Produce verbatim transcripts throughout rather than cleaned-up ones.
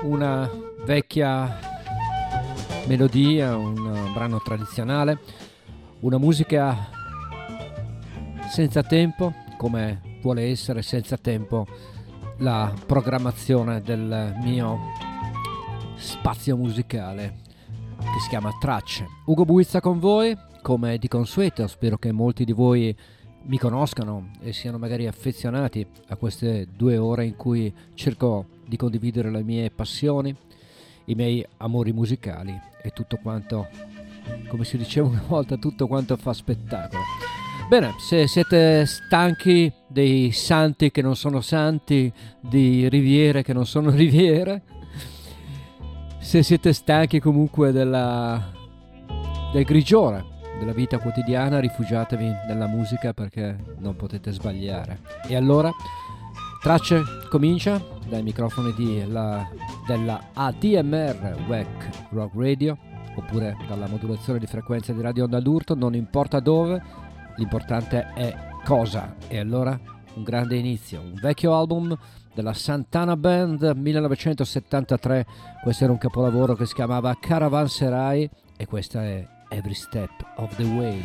una vecchia melodia, un brano tradizionale, una musica senza tempo, come vuole essere senza tempo la programmazione del mio spazio musicale che si chiama Tracce. Ugo Buizza con voi, come di consueto. Spero che molti di voi mi conoscano e siano magari affezionati a queste due ore in cui cerco di condividere le mie passioni, i miei amori musicali e tutto quanto, come si diceva una volta, tutto quanto fa spettacolo. Bene, se siete stanchi dei santi che non sono santi, di riviere che non sono riviere, se siete stanchi comunque della, del grigiore della vita quotidiana, rifugiatevi nella musica perché non potete sbagliare. E allora, Tracce comincia dai microfoni di la, della A D M R W E C Rock Radio, oppure dalla modulazione di frequenza di Radio Onda d'Urto, non importa dove. L'importante è cosa. E allora un grande inizio, un vecchio album della Santana Band millenovecentosettantatré. Questo era un capolavoro che si chiamava Caravanserai e questa è Every Step of the Way.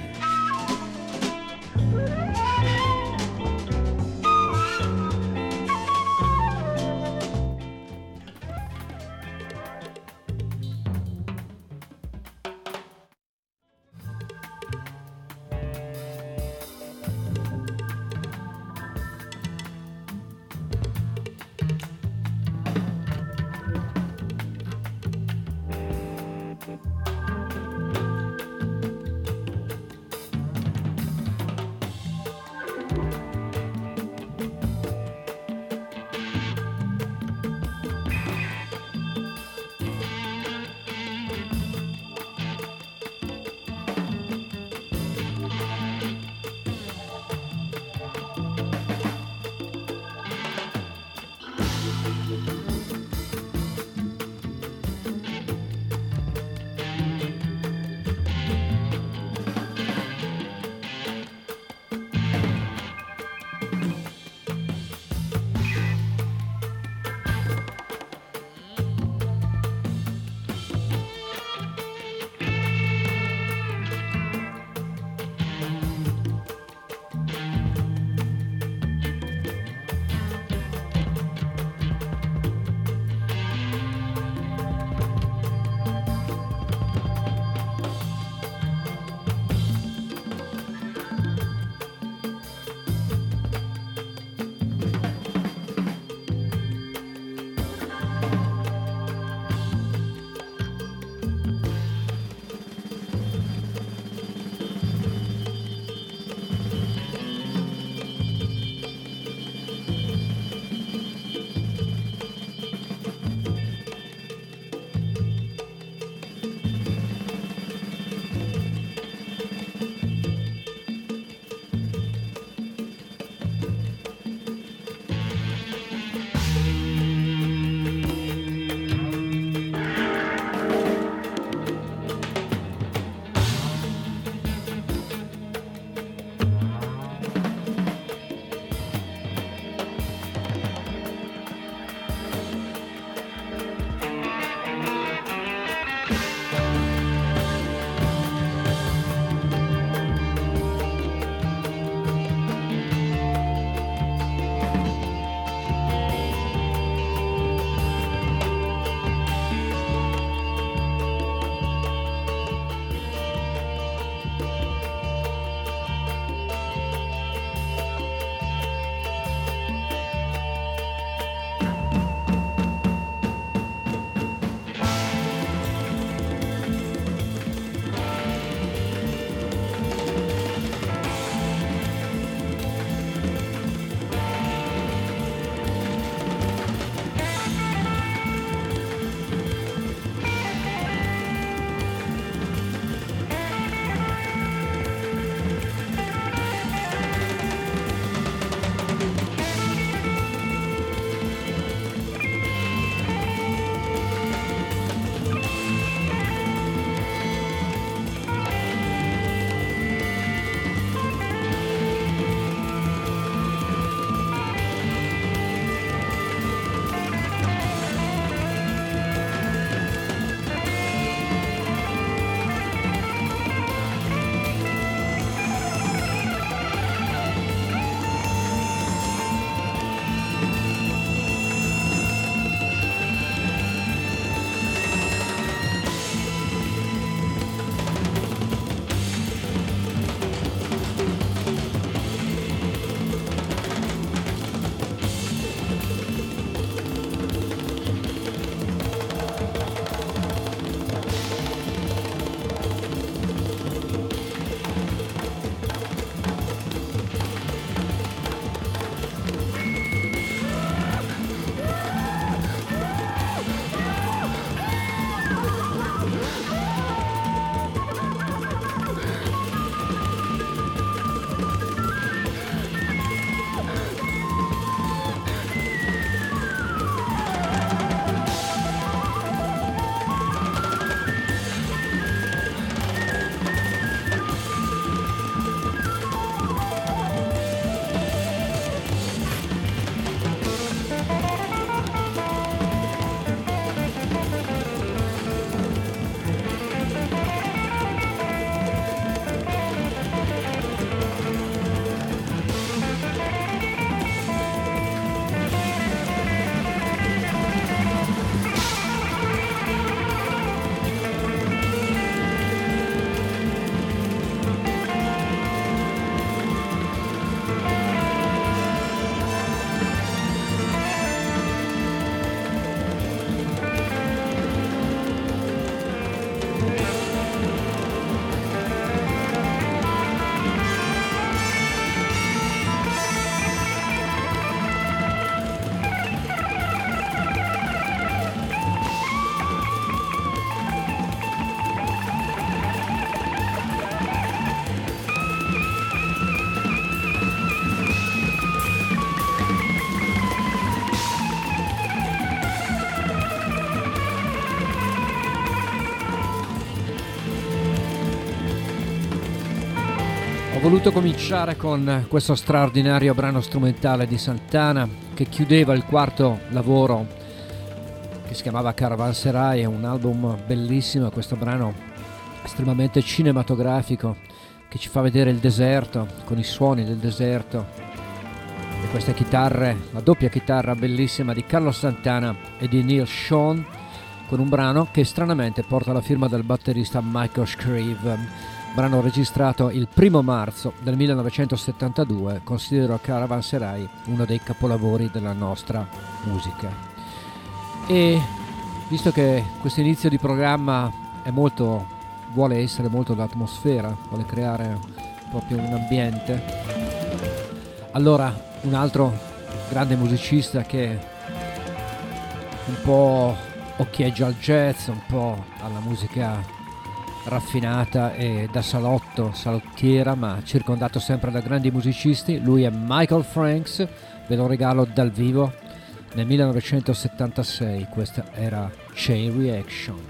Ho voluto cominciare con questo straordinario brano strumentale di Santana che chiudeva il quarto lavoro che si chiamava Caravanserai, è un album bellissimo, questo brano estremamente cinematografico che ci fa vedere il deserto con i suoni del deserto e queste chitarre, la doppia chitarra bellissima di Carlos Santana e di Neil Schon, con un brano che stranamente porta la firma del batterista Michael Shrieve. Brano registrato il primo marzo del millenovecentosettantadue, considero Caravanserai uno dei capolavori della nostra musica. E visto che questo inizio di programma è molto, vuole essere molto d'atmosfera, vuole creare proprio un ambiente, allora un altro grande musicista che un po' occhieggia al jazz, un po' alla musica raffinata e da salotto, salottiera, ma circondato sempre da grandi musicisti. Lui è Michael Franks, ve lo regalo dal vivo nel millenovecentosettantasei, questa era Chain Reaction.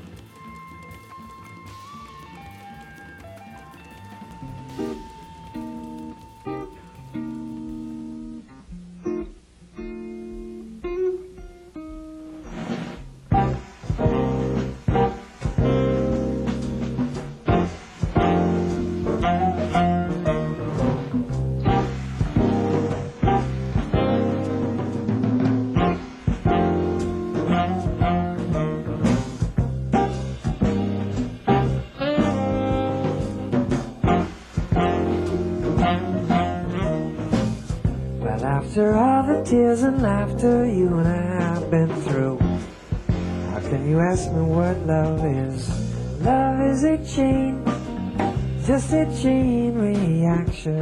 After all the tears and laughter you and I have been through, how can you ask me what love is? Love is a chain, just a chain reaction.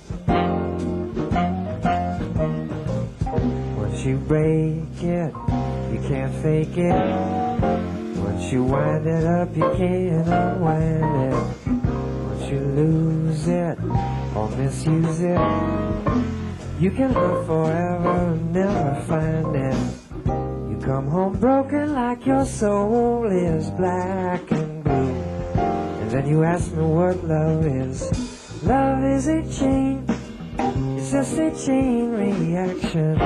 Once you break it, you can't fake it. Once you wind it up, you can't unwind it. Once you lose it or misuse it, you can live forever and never find it. You come home broken like your soul is black and blue. And then you ask me what love is. Love is a chain, it's just a chain reaction.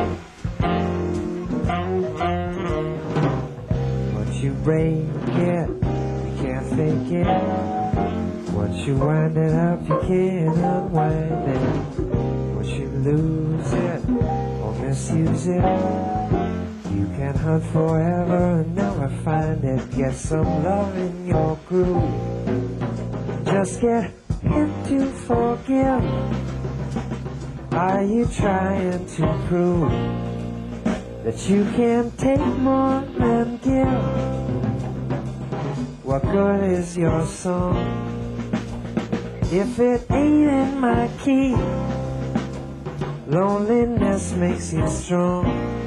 Once you break it, you can't fake it. Once you wind it up, you can't unwind it. Once you lose it or misuse it, you can hunt forever and never find it. Get some love in your groove, just get him to forgive. Are you trying to prove that you can take more than give? What good is your song if it ain't in my key? Loneliness makes you strong,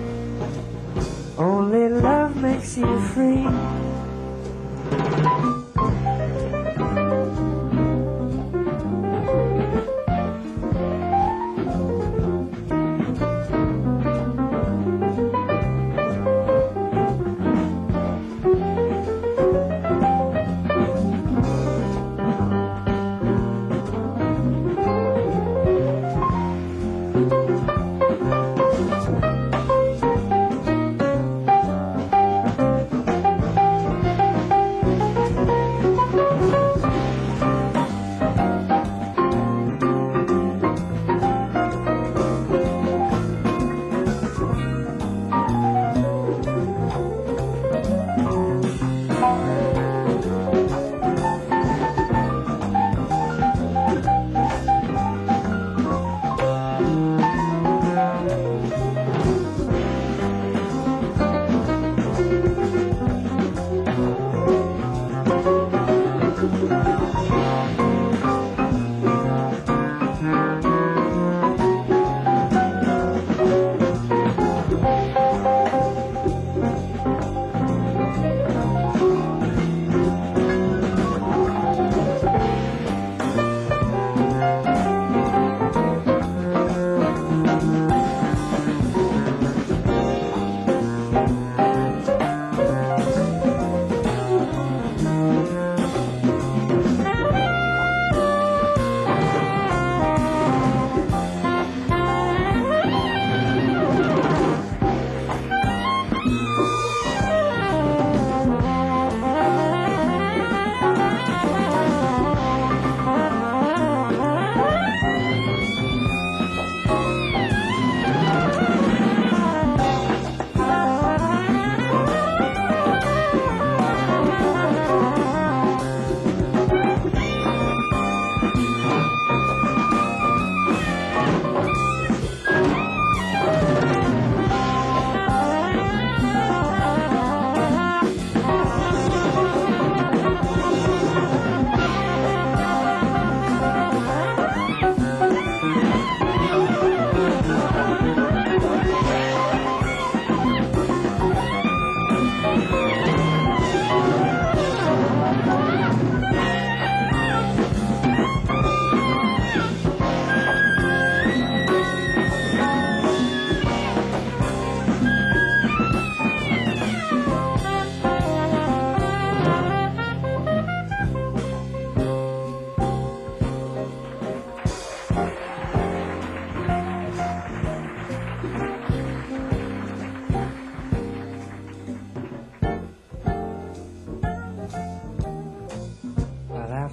only love makes you free.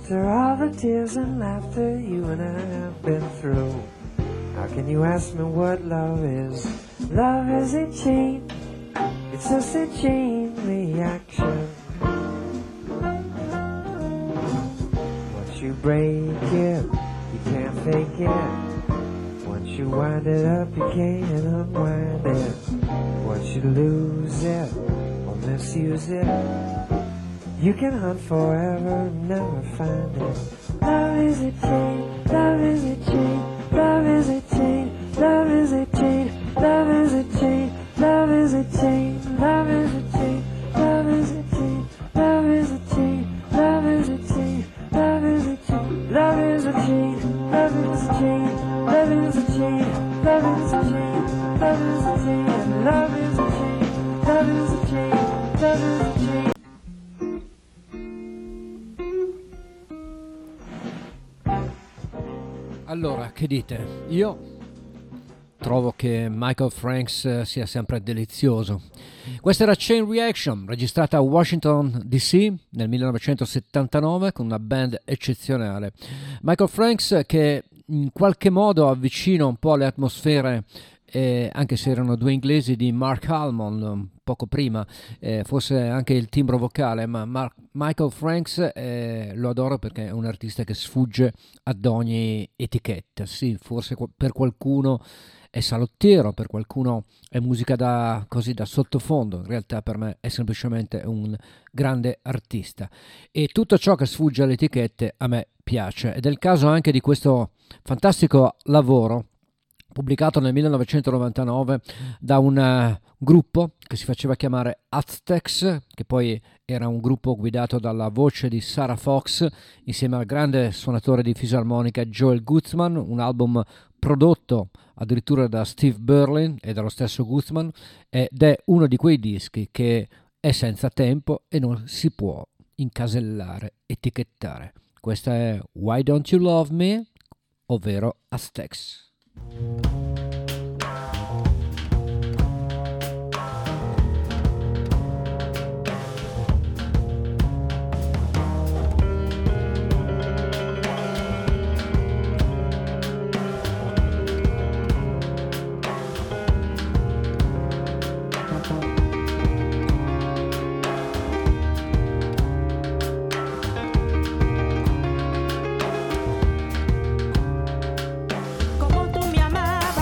After all the tears and laughter you and I have been through, how can you ask me what love is? Love is a chain, it's just a chain reaction. Once you break it, you can't fake it. Once you wind it up, you can't unwind it. Once you lose it or misuse it, you can hunt forever, never find it. Love is a chain, love is a chain, love is a chain, love is a chain, love is a chain, love is a chain, love is a chain, love is a chain, love is a chain, love is a chain, love is a chain, love is a chain, love is a chain, love is a chain, love is a chain, love is a chain, love is a chain, love is a chain, love is a chain. Allora, che dite? Io trovo che Michael Franks sia sempre delizioso. Questa era Chain Reaction, registrata a Washington D C nel millenovecentosettantanove con una band eccezionale. Michael Franks che in qualche modo avvicina un po' le atmosfere, eh, anche se erano due inglesi, di Mark Almond poco prima, eh, forse anche il timbro vocale, ma Mark, Michael Franks eh, lo adoro perché è un artista che sfugge ad ogni etichetta. Sì, forse per qualcuno è salottiero, per qualcuno è musica da, così, da sottofondo, in realtà per me è semplicemente un grande artista e tutto ciò che sfugge alle etichette a me piace, ed è il caso anche di questo fantastico lavoro pubblicato nel millenovecentonovantanove da un uh, gruppo che si faceva chiamare Aztecs, che poi era un gruppo guidato dalla voce di Sarah Fox insieme al grande suonatore di fisarmonica Joel Guzman, un album prodotto addirittura da Steve Berlin e dallo stesso Guzman, ed è uno di quei dischi che è senza tempo e non si può incasellare, etichettare. Questa è Why Don't You Love Me, ovvero Aztecs. Como tú me amabas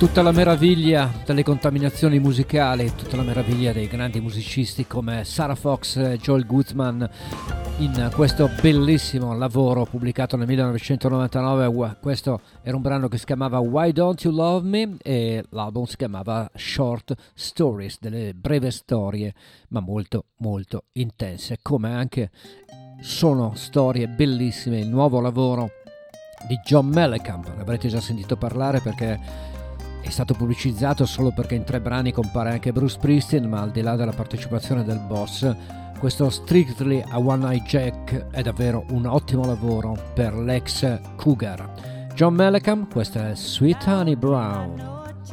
Tutta la meraviglia delle contaminazioni musicali, tutta la meraviglia dei grandi musicisti come Sarah Fox e Joel Goodman in questo bellissimo lavoro pubblicato nel millenovecentonovantanove. Questo era un brano che si chiamava Why Don't You Love Me e l'album si chiamava Short Stories, delle breve storie ma molto molto intense, come anche sono storie bellissime il nuovo lavoro di John Mellencamp. Ne avrete già sentito parlare perché è stato pubblicizzato solo perché in tre brani compare anche Bruce Springsteen, ma al di là della partecipazione del boss, questo Strictly a One Eye Jack è davvero un ottimo lavoro per l'ex Cougar. John Mellencamp, questa è Sweet Honey Brown.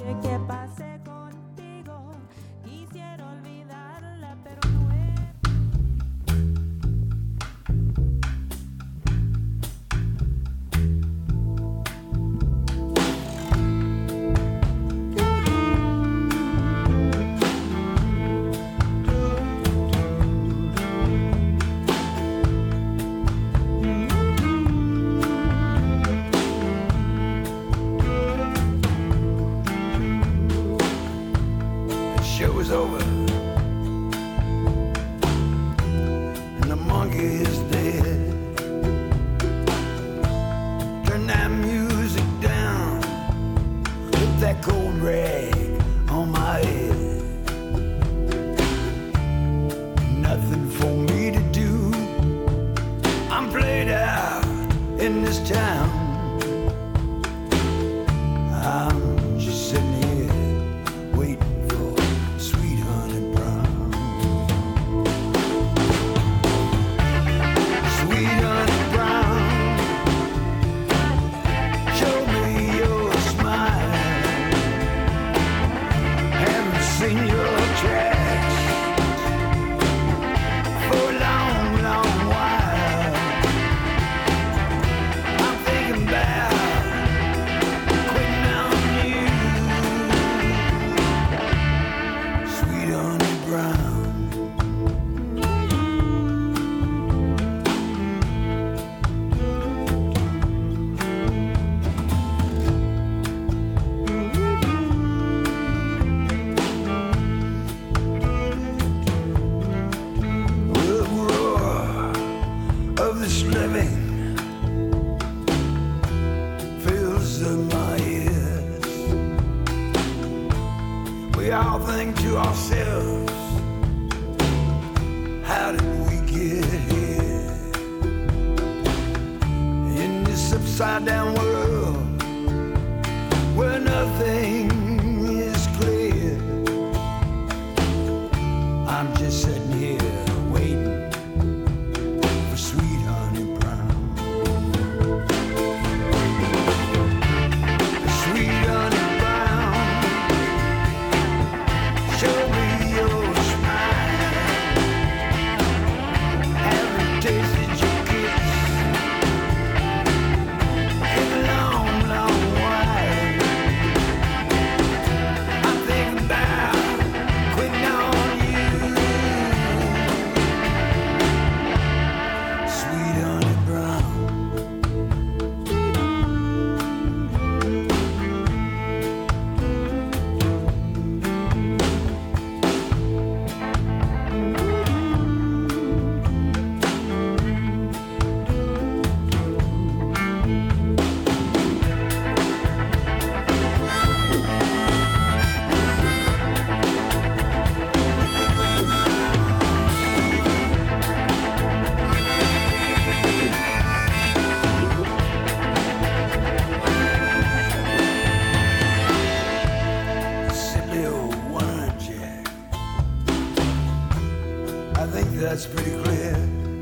That's pretty clear.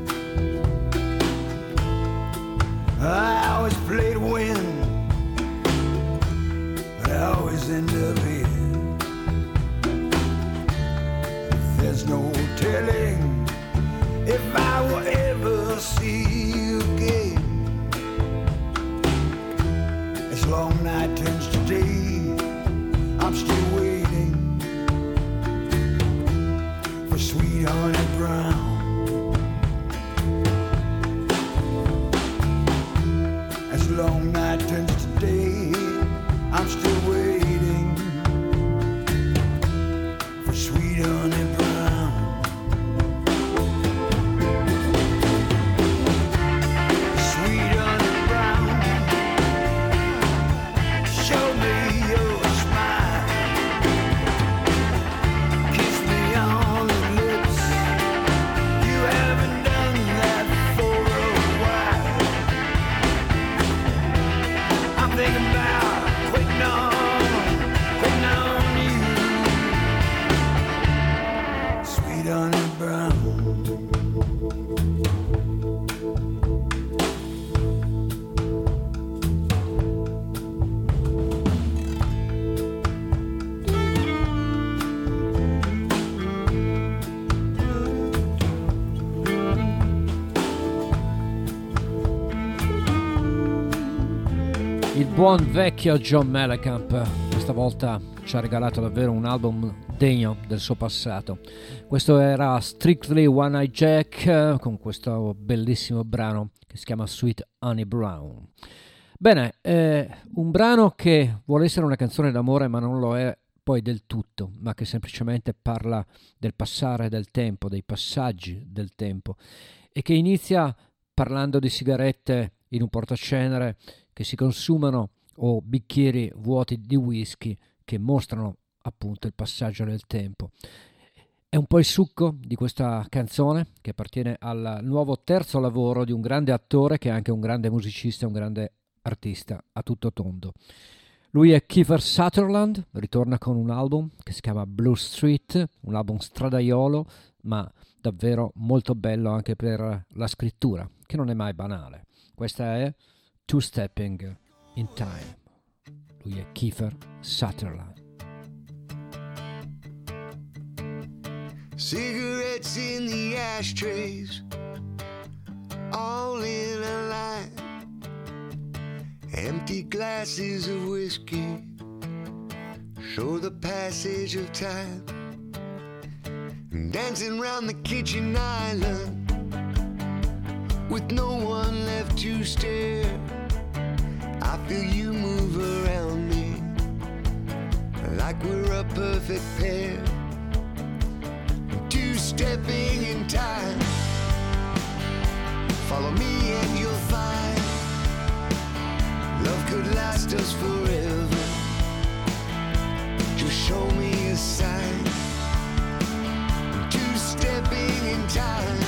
I always play to win, but I always end up here. There's no telling if I will ever see you again. As long night turns to day, I'm still waiting for sweet honey brown. As long night turns to day, I'm still waiting buon vecchio John Mellencamp, questa volta ci ha regalato davvero un album degno del suo passato. Questo era Strictly One Eye Jack con questo bellissimo brano che si chiama Sweet Honey Brown. Bene, eh, un brano che vuole essere una canzone d'amore ma non lo è poi del tutto, ma che semplicemente parla del passare del tempo, dei passaggi del tempo, e che inizia parlando di sigarette in un portacenere che si consumano o bicchieri vuoti di whisky che mostrano appunto il passaggio del tempo. È un po' il succo di questa canzone che appartiene al nuovo terzo lavoro di un grande attore che è anche un grande musicista e un grande artista a tutto tondo. Lui è Kiefer Sutherland, ritorna con un album che si chiama Blue Street, un album stradaiolo ma davvero molto bello anche per la scrittura, che non è mai banale. Questa è Two Stepping in Time. Lui è Kiefer Sutherland. Cigarettes in the ashtrays, all in a line. Empty glasses of whiskey show the passage of time. Dancing round the kitchen island with no one left to stare. I feel you move around me like we're a perfect pair. Two-stepping in time. Follow me and you'll find love could last us forever. Just show me a sign. Two-stepping in time.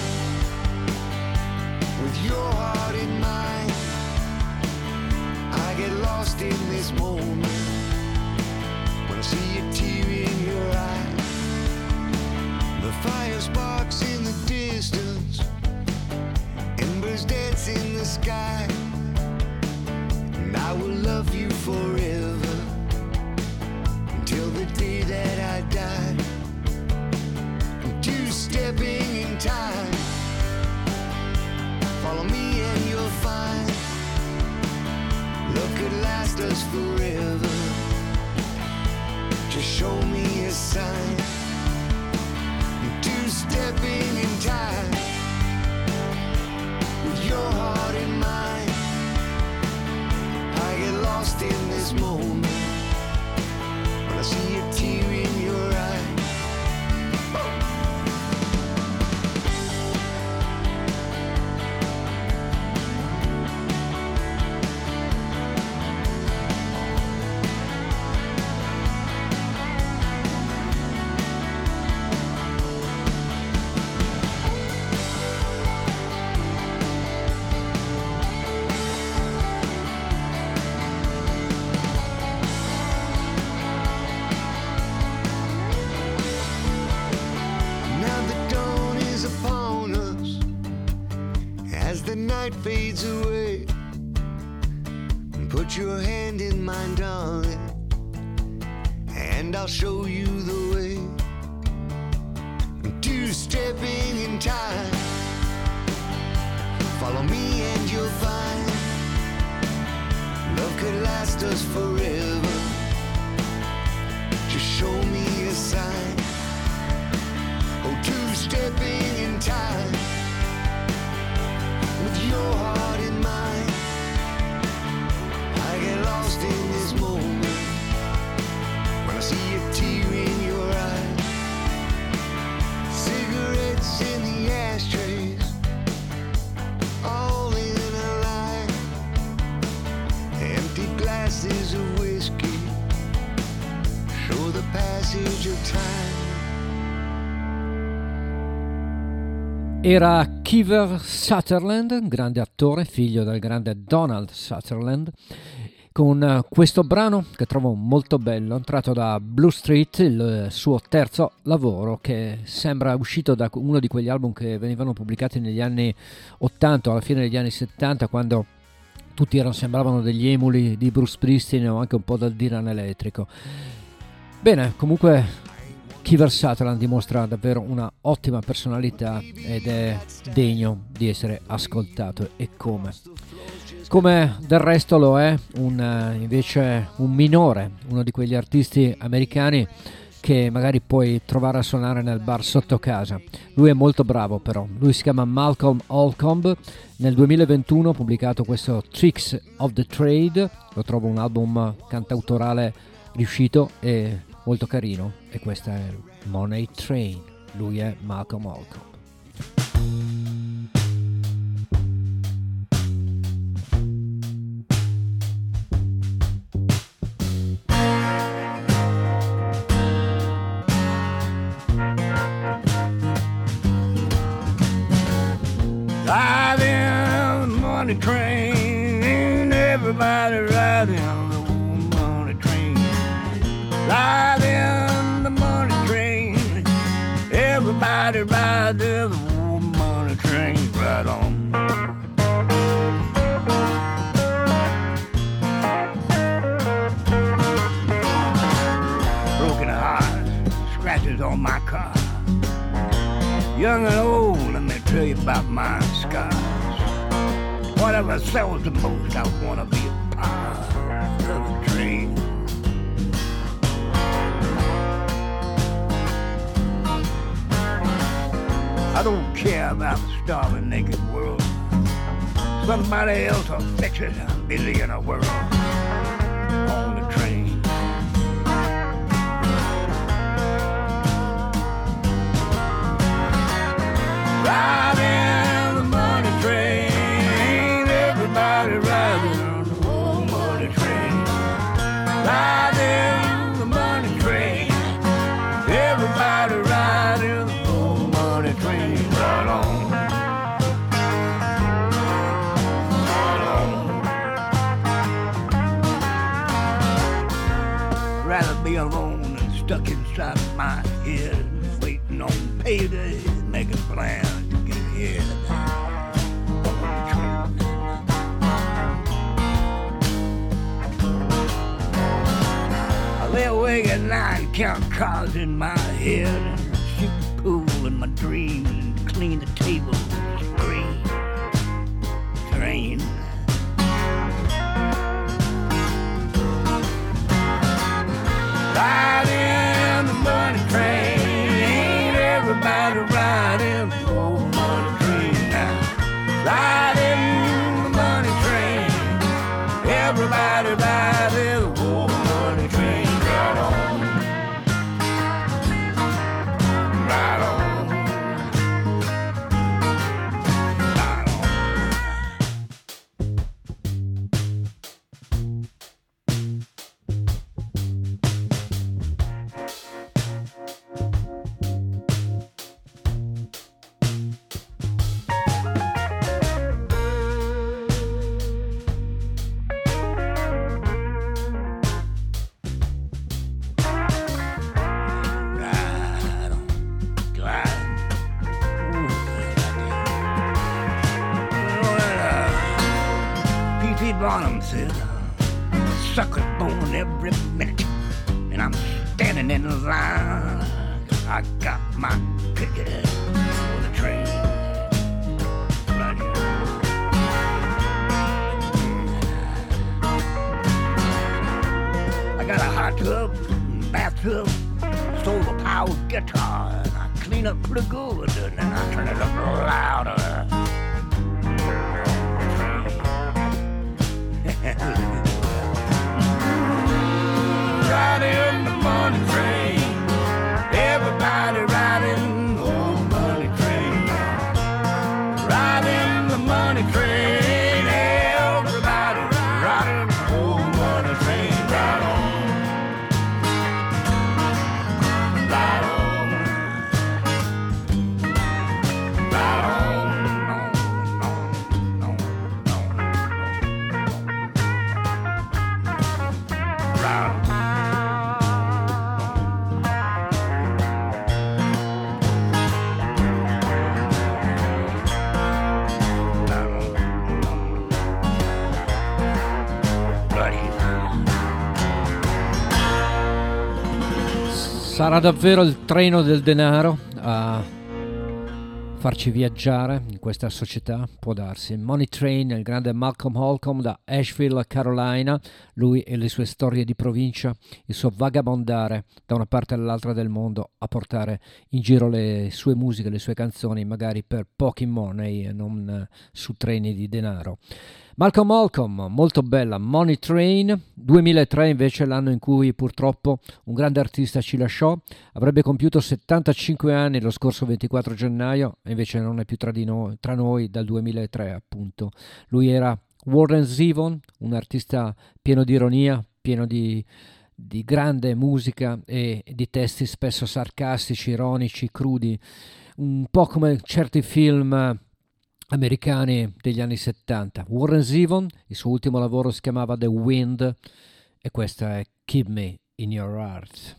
With your heart in mine, I get lost in this moment when I see a tear in your eye. The fire sparks in the distance, embers dance in the sky, and I will love you forever until the day that I die. Two-stepping in time. Follow me and you'll find love could last us forever. Just show me a sign. Two-stepping in time. With your heart in mine, I get lost in this moment when I see a tear in your eye. Fades away. Put your hand in mine, darling, and I'll show you the way. Two-stepping in time. Follow me and you'll find love could last us forever. Just show me a sign. Oh, two-stepping in time. With your heart in mine, I get lost in this moment when I see a tear in your eye. Cigarettes in the ashtrays, all in a line. Empty glasses of whiskey show the passage of time. Era Kiefer Sutherland, grande attore, figlio del grande Donald Sutherland, con questo brano che trovo molto bello, tratto da Blue Street, il suo terzo lavoro, che sembra uscito da uno di quegli album che venivano pubblicati negli anni ottanta o alla fine degli anni settanta, quando tutti erano, sembravano degli emuli di Bruce Springsteen o anche un po' dal Dylan elettrico. Bene, comunque Kiefer Sutherland dimostra davvero una ottima personalità ed è degno di essere ascoltato, e come. come del resto lo è un, invece un minore, uno di quegli artisti americani che magari puoi trovare a suonare nel bar sotto casa. Lui è molto bravo però, lui si chiama Malcolm Holcomb, nel duemilaventuno ha pubblicato questo Tricks of the Trade, lo trovo un album cantautorale riuscito e molto carino, e questa è Money Train, lui è Malcolm Holcomb. Money train, everybody riding the old money train. Riding the money train, everybody riding the old money train. Right on. Broken heart, scratches on my car. Young and old, let me tell you about my scars. Whatever sells the most, I wanna be a part of the train. I don't care about the starving naked world. Somebody else will fix it, I'm busy in a world on the train. Riding the money train, everybody riding on the old money train. Riding the money train, everybody riding the old money train. Right on, right on. Rather be alone than stuck inside my head, waiting on payday, making plans to get ahead. Lay awake at night and count cars in my head, and shoot the pool in my dreams and clean the tables, scream, train. Riding the money train, everybody riding the old money train now. Riding the money train, everybody riding the old money train. Right on, right on, right on. Bonham said, sucker's born every minute, and I'm standing in the line. I got my ticket for the train. Right here. I got a hot tub, bathtub, solar powered guitar, and I clean up pretty good, and then I turn it up louder. Riding the money train, everybody riding the old money train. Riding the money train, everybody riding the old money train. Right on, right on, right on. Sarà davvero il treno del denaro a farci viaggiare in questa società, può darsi. Money Train, il grande Malcolm Holcomb da Asheville, Carolina, lui e le sue storie di provincia, il suo vagabondare da una parte all'altra del mondo a portare in giro le sue musiche, le sue canzoni, magari per pochi money e non su treni di denaro. Malcolm Holcomb, molto bella, Money Train. duemilatré invece l'anno in cui purtroppo un grande artista ci lasciò, avrebbe compiuto settantacinque anni lo scorso ventiquattro gennaio e invece non è più tra, di noi, tra noi dal duemilatré appunto. Lui era Warren Zevon, un artista pieno di ironia, pieno di, di grande musica e di testi spesso sarcastici, ironici, crudi, un po' come certi film americani degli anni settanta. Warren Zevon, il suo ultimo lavoro si chiamava The Wind e questa è Keep Me in Your Heart.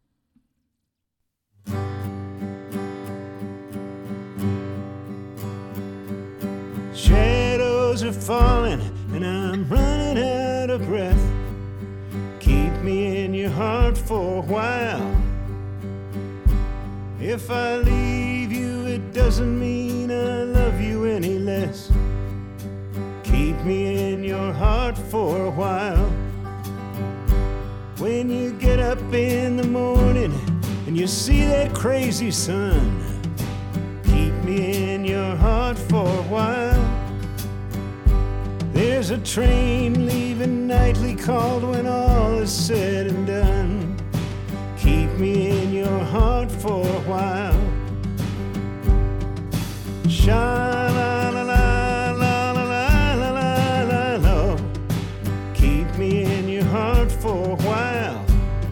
Shadows are falling and I'm running out of breath. Keep me in your heart for a while. If I leave you, it doesn't mean I love you any less. Keep me in your heart for a while. When you get up in the morning and you see that crazy sun, keep me in your heart for a while. There's a train leaving nightly called when all is said and done. Keep me in your heart for a while. Sha-la-la-la-la-la-la-la-la. Keep me in your heart for a while.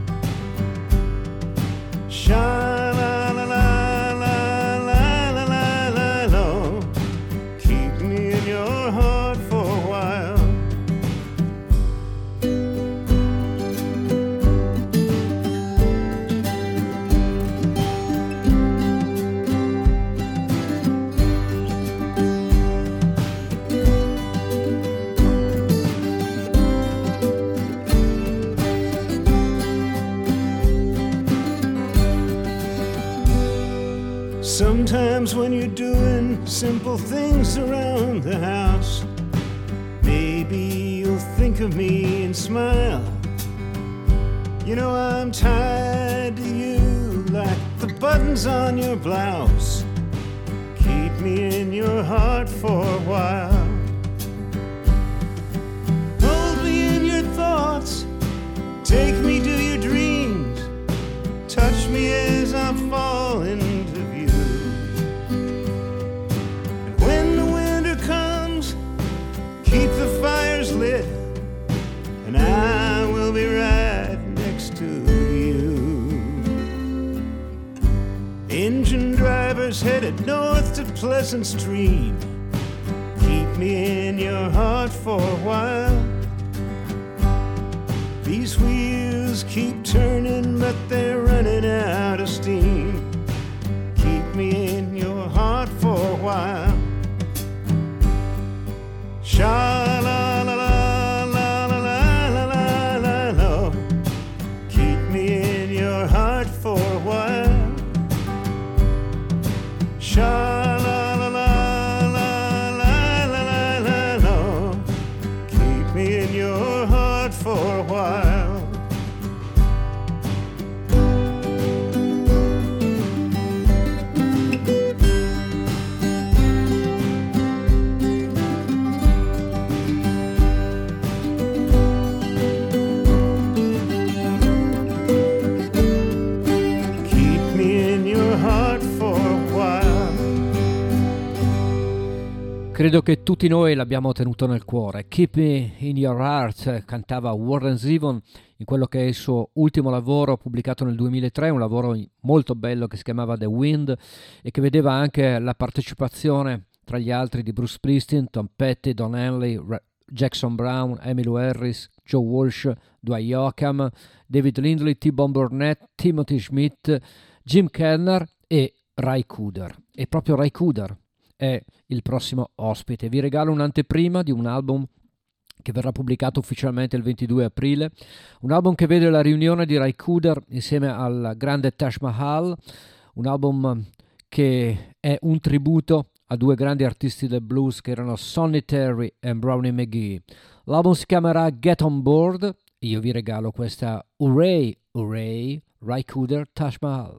Sha-la-la-la-la-la-la-la. Keep me in your heart for a while. Sometimes when you're doing simple things around the house, maybe you'll think of me and smile. You know I'm tied to you like the buttons on your blouse. Keep me in your heart for a while. Hold me in your thoughts, take me to your dreams, touch me as I fall into view. Keep the fires lit, and I will be right next to you. Engine drivers headed north to Pleasant Stream. Keep me in your heart for a while. These wheels keep turning, but they're running out of steam. Keep me in your heart for a while. Sha-la-la-la-la-la-la-la-la. Keep me in your heart for a while. Sha-la-la-la-la-la-la-la. Keep me in your heart for a while. Credo che tutti noi l'abbiamo tenuto nel cuore. Keep Me in Your Heart cantava Warren Zevon in quello che è il suo ultimo lavoro pubblicato nel duemilatré, un lavoro molto bello che si chiamava The Wind e che vedeva anche la partecipazione tra gli altri di Bruce Springsteen, Tom Petty, Don Henley, Jackson Brown, Emmylou Harris, Joe Walsh, Dwight Yoakam, David Lindley, T-Bone Burnett, Timothy Schmidt, Jim Kellner e Ry Cooder. E proprio Ry Cooder è il prossimo ospite. Vi regalo un'anteprima di un album che verrà pubblicato ufficialmente il ventidue aprile, un album che vede la riunione di Ry Cooder insieme al grande Taj Mahal, un album che è un tributo a due grandi artisti del blues che erano Sonny Terry e Brownie McGhee. L'album si chiamerà Get On Board e io vi regalo questa Hooray, Hooray, Ry Cooder, Taj Mahal.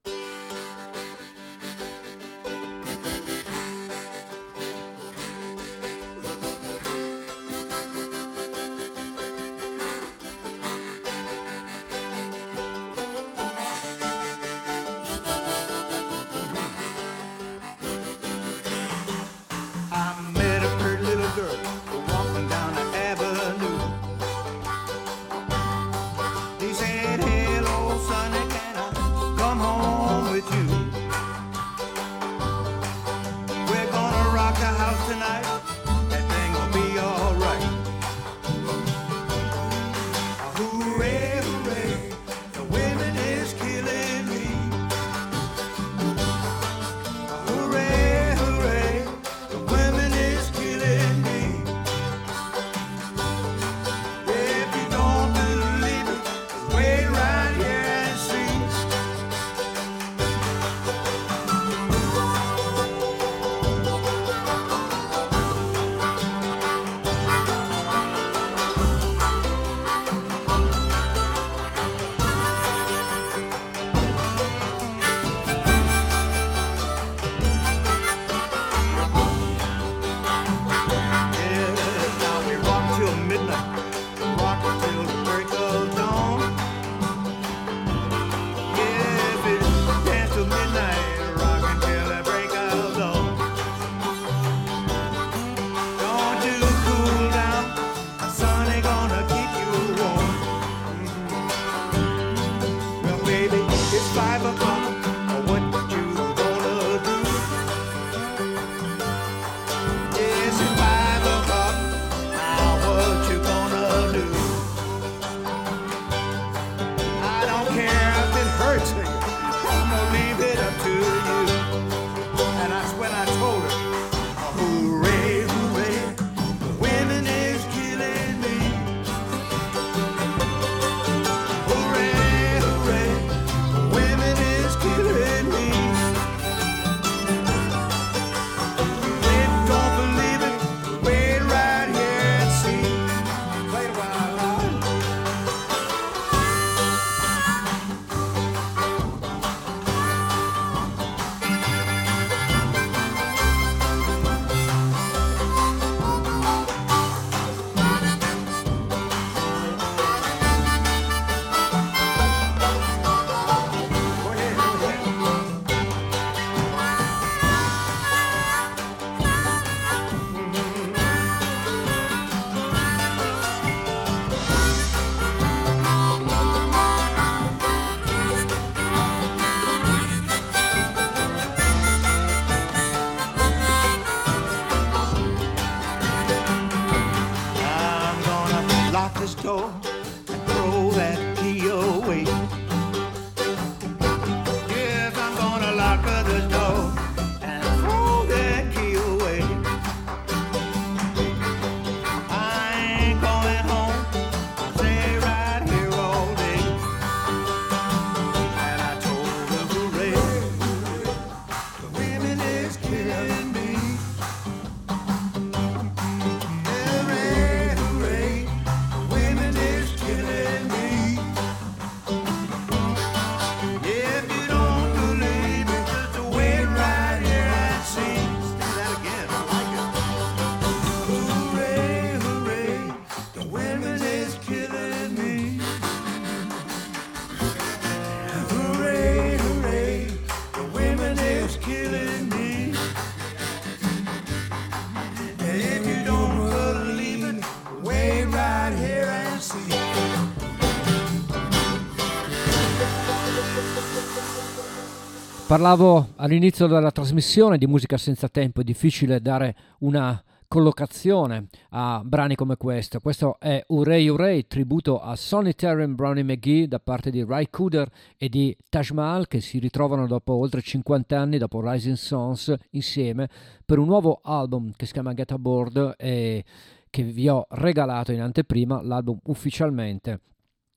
Parlavo all'inizio della trasmissione di musica senza tempo, è difficile dare una collocazione a brani come questo. Questo è Hooray Hooray, tributo a Sonny Terry e Brownie McGhee da parte di Ry Cooder e di Taj Mahal, che si ritrovano dopo oltre cinquanta anni, dopo Rising Sons, insieme per un nuovo album che si chiama Get Aboard e che vi ho regalato in anteprima, l'album ufficialmente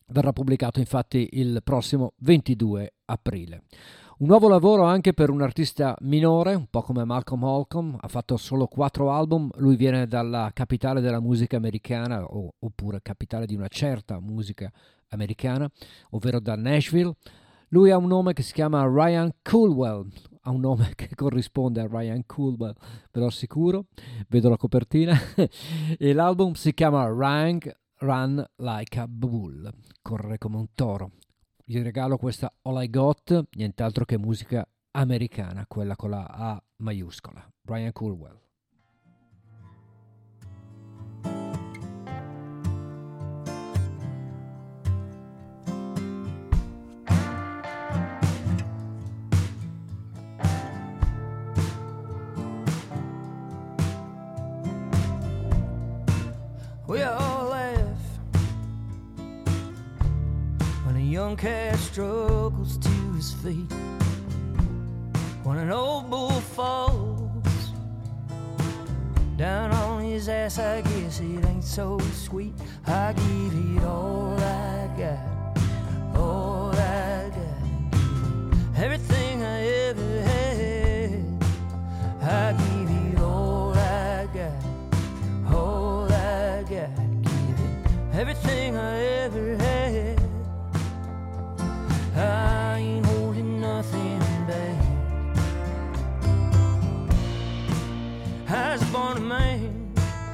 verrà pubblicato infatti il prossimo ventidue aprile. Un nuovo lavoro anche per un artista minore, un po' come Malcolm Holcomb, ha fatto solo quattro album, lui viene dalla capitale della musica americana, o, oppure capitale di una certa musica americana, ovvero da Nashville. Lui ha un nome che si chiama Ryan Coolwell, ha un nome che corrisponde a Ryan Coolwell, ve lo assicuro, vedo la copertina, e l'album si chiama Ryan Run Like a Bull, correre come un toro. Vi regalo questa All I Got, nient'altro che musica americana, quella con la A maiuscola. Ryan Coolwell. We all laugh when a young cat struggles to his feet, when an old bull falls down on his ass. I guess it ain't so sweet. I give it all I got, all I got, everything I ever had. I give it all I got, all I got, give it everything I ever had. I ain't holding nothing back. I was born a man,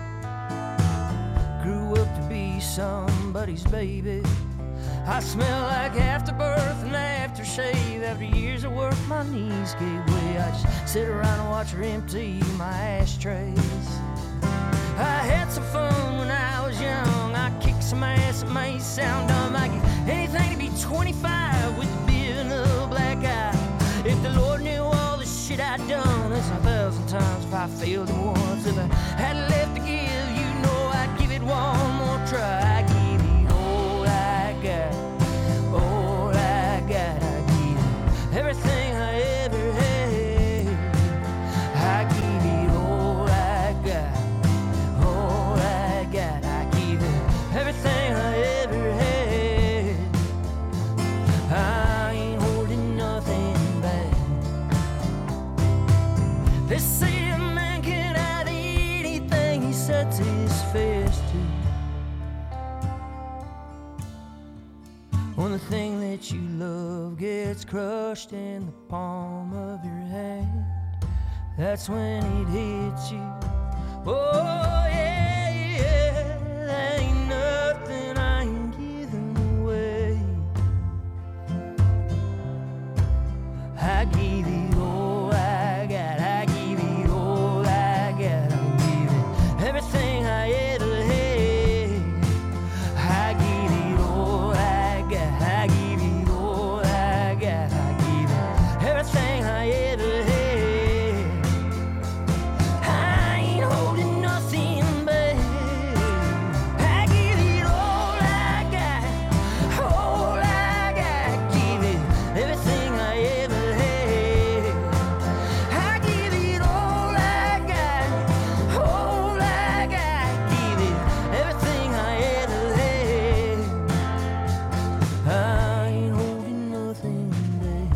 grew up to be somebody's baby. I smell like afterbirth and aftershave. After years of work, my knees gave way. I just sit around and watch her empty my ashtrays. I had some fun when I was young. I kicked some ass, it may sound dumb. I give anything to be twenty-five with a beard and a black eye. If the Lord knew all the shit I'd done, that's a thousand times if I failed him once. If I had left to give, you know I'd give it one more try. I give it all I got, all I got. I give it everything I ever had. I give it all I got, all I got. I give it everything I ever had. I ain't holding nothing back. They say a man can have anything he sets his face to. When the thing that you love gets crushed in the palm of your hand, that's when it hits you. Oh yeah, yeah, there ain't nothing I ain't giving away. I give it all I got, I give it all I got. I give it everything I ever had. I give it all I got, I give it all I got. I give it everything I ever had. I ain't holding nothing back. I give it all I got, all I got. Give it everything I ever had. I give it all I got, all I got. Give it everything I ever had. I ain't holding nothing back.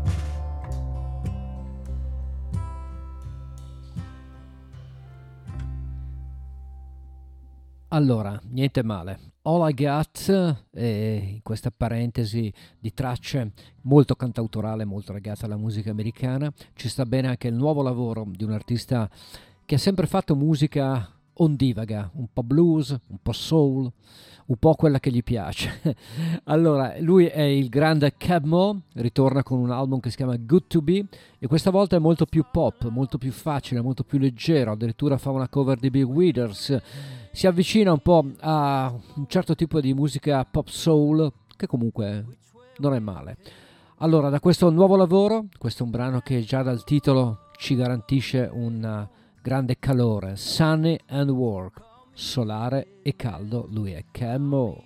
Allora, niente male. All I Got, eh, in questa parentesi di tracce molto cantautorale, molto legata alla musica americana, ci sta bene anche il nuovo lavoro di un artista che ha sempre fatto musica ondivaga, un po' blues, un po' soul, un po' quella che gli piace. Allora, lui è il grande Cab Mo, ritorna con un album che si chiama Good to Be e questa volta è molto più pop, molto più facile, molto più leggero, addirittura fa una cover di Big Withers, si avvicina un po' a un certo tipo di musica pop soul che comunque non è male. Allora, da questo nuovo lavoro, questo è un brano che già dal titolo ci garantisce un grande calore, Sunny and Work, solare e caldo, lui è Cab Mo.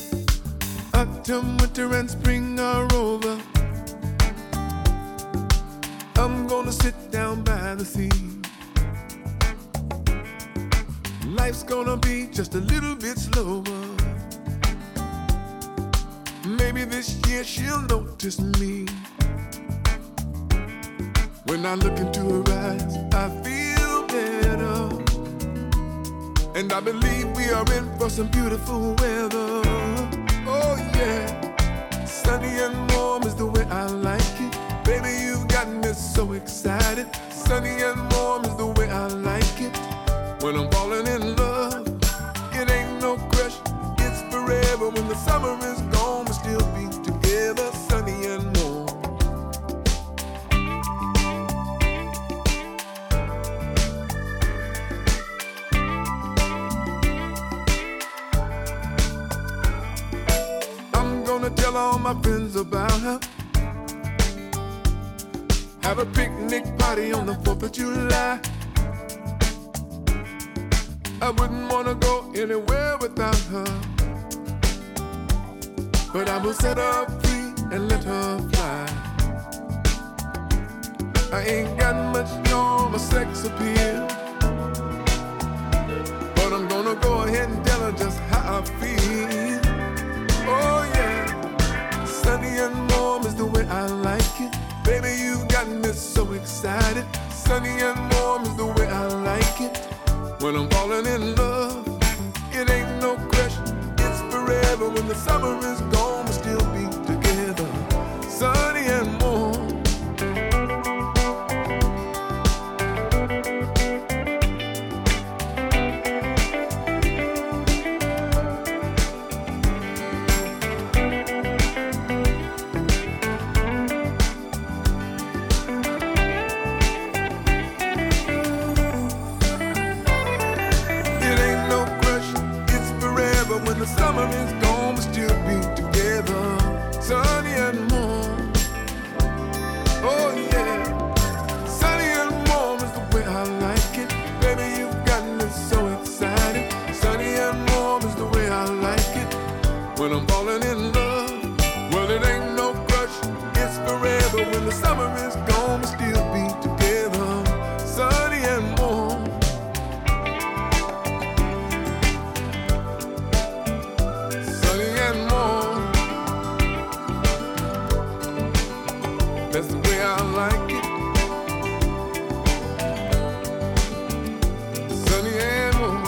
Autumn, winter and spring are over. wanna sit down by the sea. Life's gonna be just a little bit slower. Maybe this year she'll notice me. When I look into her eyes, I feel better. And I believe we are in for some beautiful weather. Oh yeah, sunny and warm is the way I like it. Baby, you've got me so excited. Sunny and warm is the way I like it. When I'm falling in love, it ain't no crush, it's forever. When the summer is gone, we'll still be together, sunny and warm. Tell all my friends about her. Have a picnic party on the fourth of July. I wouldn't wanna go anywhere without her, but I will set her free and let her fly. I ain't got much on my sex appeal, but I'm gonna go ahead and tell her just how I feel. Oh yeah, sunny and warm is the way I like it. Baby, you got me so excited. Sunny and warm is the way I like it. When I'm falling in love, it ain't no crush, it's forever. When the summer is gone, we'll still be together, sunny and warm. When the summer is gone, we'll still be together, sunny and warm. Oh yeah, sunny and warm is the way I like it. Baby, you've got me so excited. Sunny and warm is the way I like it. When I'm falling in love, well it ain't no crush, it's forever. When the summer is gone, we'll still be together, sunny and warm. That's the way I like it. Sunny and warm.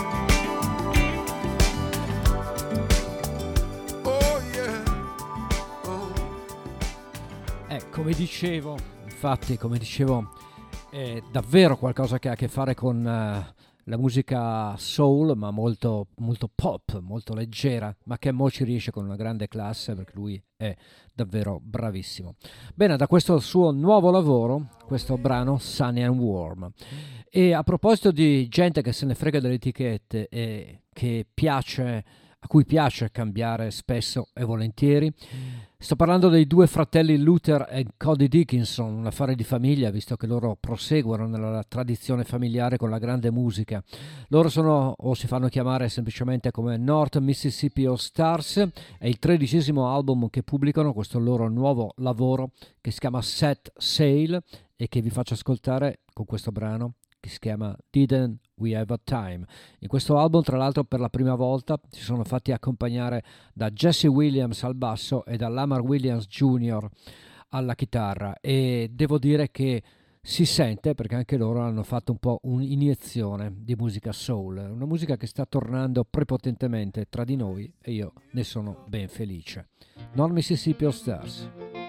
Oh yeah. Oh. Eh, come dicevo, infatti, come dicevo, è davvero qualcosa che ha a che fare con uh, la musica soul, ma molto, molto pop, molto leggera, ma che mo ci riesce con una grande classe, perché lui è davvero bravissimo. Bene, da questo suo nuovo lavoro, questo brano Sunny and Warm. E a proposito di gente che se ne frega delle etichette e che piace, a cui piace cambiare spesso e volentieri, sto parlando dei due fratelli Luther e Cody Dickinson, un affare di famiglia, visto che loro proseguono nella tradizione familiare con la grande musica. Loro sono, o si fanno chiamare semplicemente come North Mississippi All Stars, è il tredicesimo album che pubblicano, questo loro nuovo lavoro che si chiama Set Sail e che vi faccio ascoltare con questo brano che si chiama Didn't We Have a Time. In questo album, tra l'altro, per la prima volta si sono fatti accompagnare da Jesse Williams al basso e da Lamar Williams Junior alla chitarra, e devo dire che si sente, perché anche loro hanno fatto un po' un'iniezione di musica soul, una musica che sta tornando prepotentemente tra di noi e io ne sono ben felice. North Mississippi All Stars.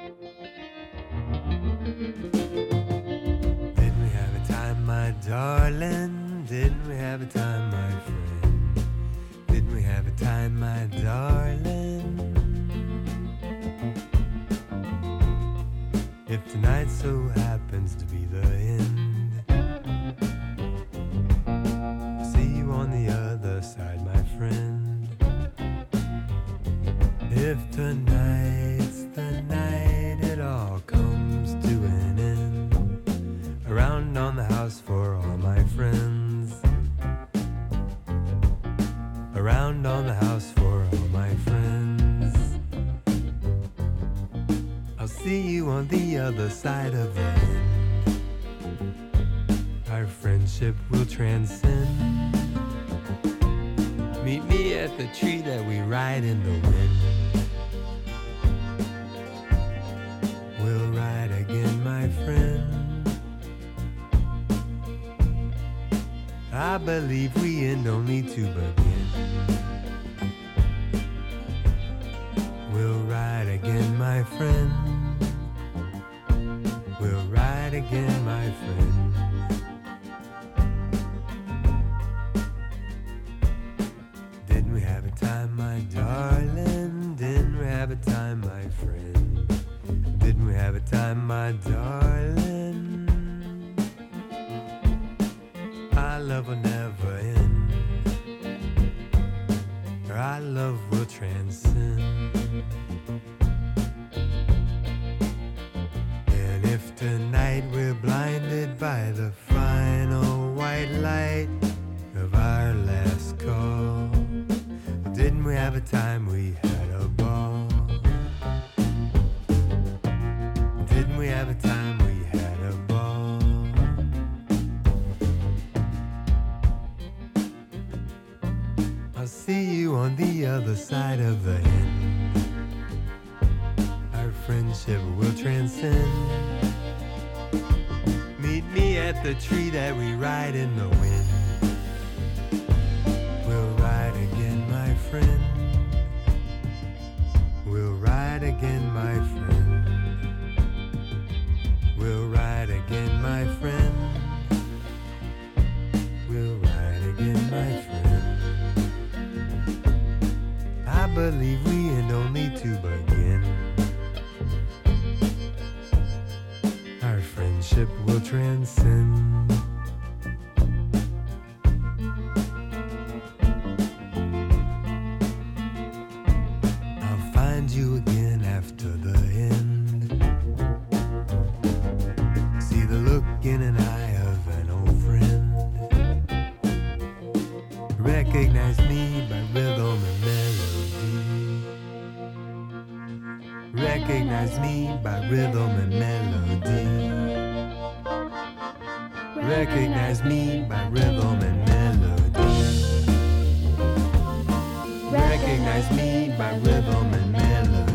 My darling, didn't we have a time, my friend? Didn't we have a time, my darling? If tonight so happens to be the end, I'll see you on the other side, my friend. If tonight's the night it all comes to an end, around on the house for all my friends, around on the house for all my friends. I'll see you on the other side of the end. friendship will transcend. Meet me at the tree that we ride in the wind. We'll ride again, my friend. I believe we end only to begin. We'll ride again, my friend. We'll ride again, my friend. Didn't we have a time, my darling? Didn't we have a time, my friend? Didn't we have a time, my darling? Our love will never end. Our love will transcend. And if tonight we're blinded by the final white light of our last call, didn't we have a time we had a ball? Didn't we have a time we had a ball? I'll see you on the other side of the end. Our friendship will transcend. Meet me at the tree that we ride in the wind. We'll ride again, my friend. We'll ride again, my friend. We'll ride again, my friend. We'll ride again, my friend. I believe we end only to begin. Our friendship will transcend. I'll find you again after the end. See the look in an eye of an old friend. Recognize me by rhythm and melody. Recognize me by rhythm and melody. Recognize me by rhythm and melody. Recognize me by rhythm and melody.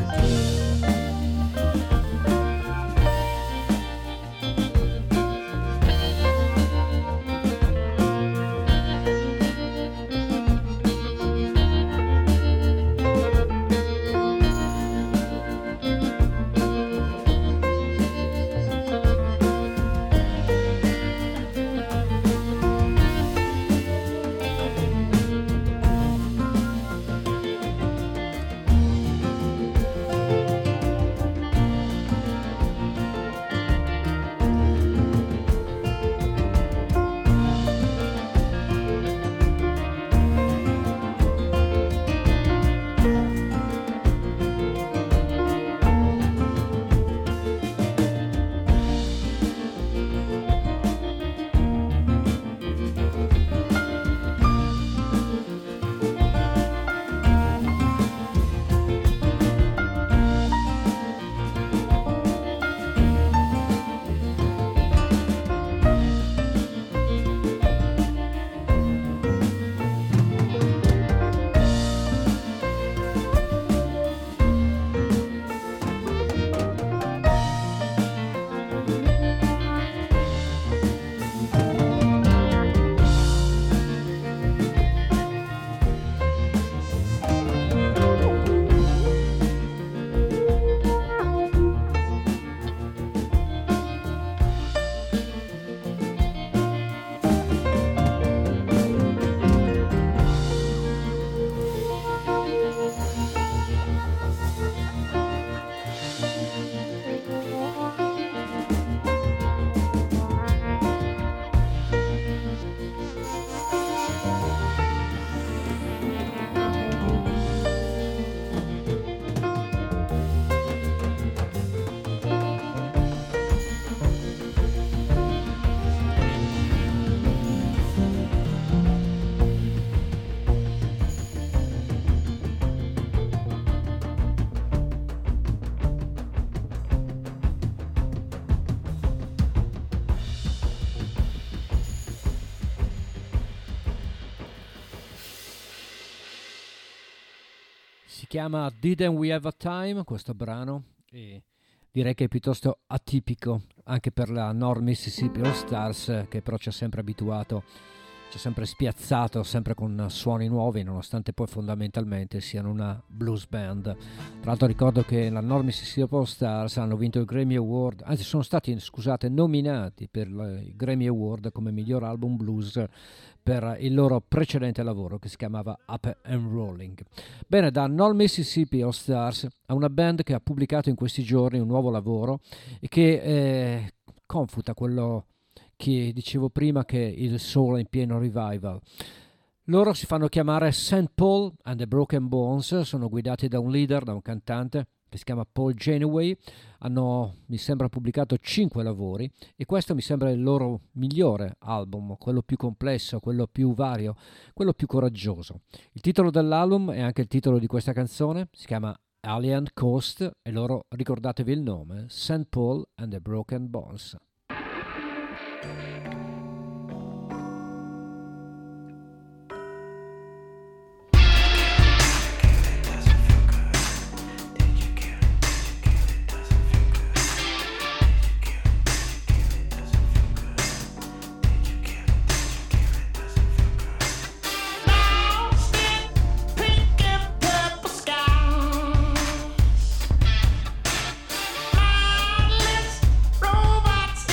chiama Didn't We Have a Time questo brano, e direi che è piuttosto atipico anche per la North Mississippi All Stars, che però ci ha sempre abituato, ci ha sempre spiazzato, sempre con suoni nuovi, nonostante poi fondamentalmente siano una blues band. Tra l'altro ricordo che la North Mississippi All Stars hanno vinto il Grammy Award, anzi sono stati, scusate, nominati per il Grammy Award come miglior album blues per il loro precedente lavoro che si chiamava Up and Rolling. Bene, da North Mississippi All Stars a una band che ha pubblicato in questi giorni un nuovo lavoro e che eh, confuta quello che dicevo prima, che il soul è in pieno revival. Loro si fanno chiamare Saint Paul and the Broken Bones, sono guidati da un leader, da un cantante che si chiama Paul Janeway. Hanno, mi sembra, pubblicato cinque lavori e questo mi sembra il loro migliore album, quello più complesso, quello più vario, quello più coraggioso. Il titolo dell'album è anche il titolo di questa canzone, si chiama Alien Coast e loro, ricordatevi il nome, Saint Paul and the Broken Bones. Robots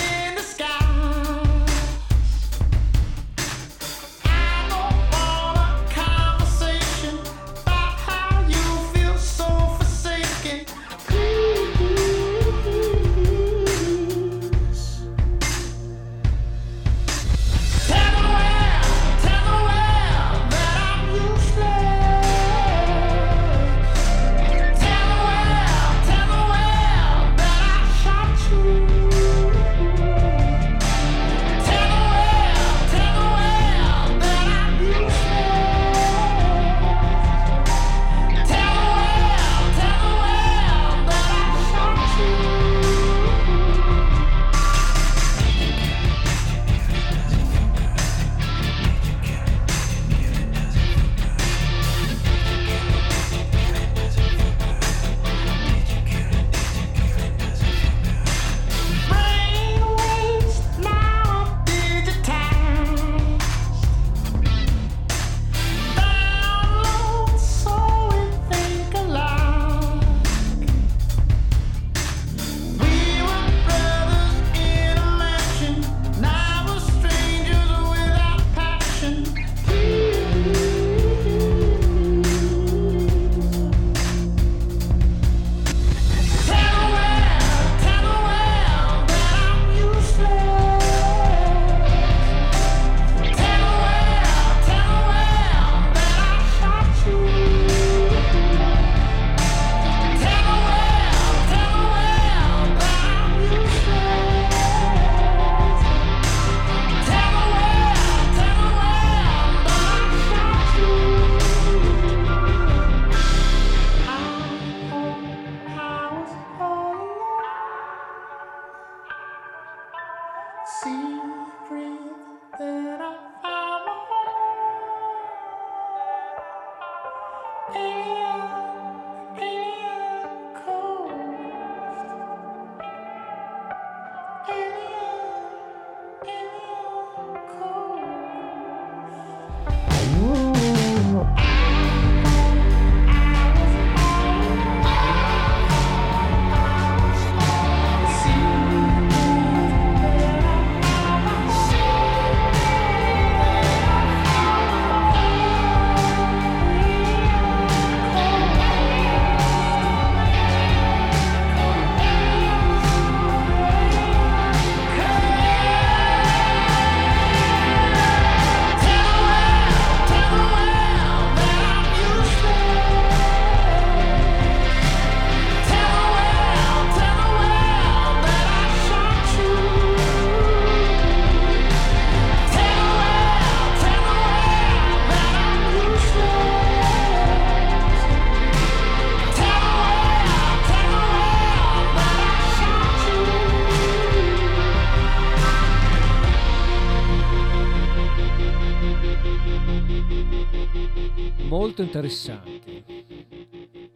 molto interessanti.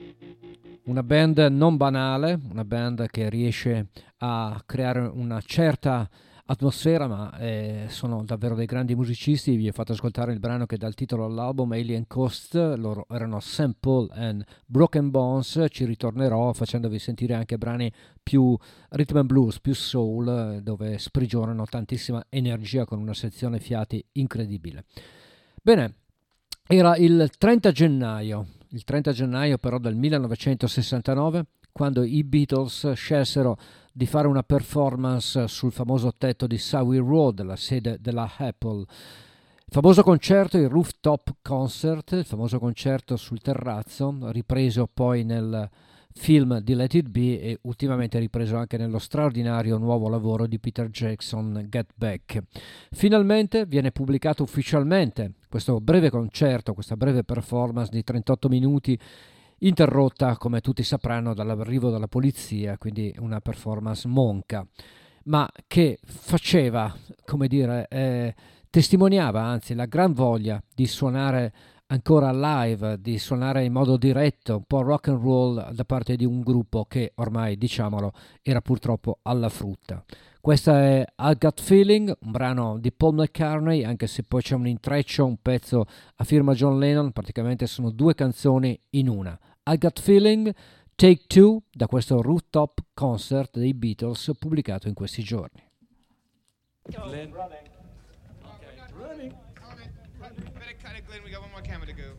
una band non banale, una band che riesce a creare una certa atmosfera, ma eh, sono davvero dei grandi musicisti. Vi ho fatto ascoltare il brano che dà il titolo all'album, Alien Coast. Loro erano Saint Paul and Broken Bones. Ci ritornerò facendovi sentire anche brani più rhythm and blues, più soul, dove sprigionano tantissima energia con una sezione fiati incredibile. Bene, era il trenta gennaio, il trenta gennaio però del millenovecentosessantanove, quando i Beatles scelsero di fare una performance sul famoso tetto di Savile Road, la sede della Apple. Il famoso concerto, il Rooftop Concert, il famoso concerto sul terrazzo, ripreso poi nel film di Let It Be e ultimamente ripreso anche nello straordinario nuovo lavoro di Peter Jackson, Get Back. Finalmente viene pubblicato ufficialmente questo breve concerto, questa breve performance di trentotto minuti, interrotta, come tutti sapranno, dall'arrivo della polizia, quindi una performance monca, ma che faceva, come dire, eh, testimoniava anzi la gran voglia di suonare ancora live, di suonare in modo diretto, un po' rock and roll da parte di un gruppo che ormai, diciamolo, era purtroppo alla frutta. Questa è I Got Feeling, un brano di Paul McCartney, anche se poi c'è un intreccio, un pezzo a firma John Lennon, praticamente sono due canzoni in una. I Got Feeling, Take Two, da questo Rooftop Concert dei Beatles pubblicato in questi giorni. Glenn. Okay. Running. Better cut it, Glenn. We got one more camera to go.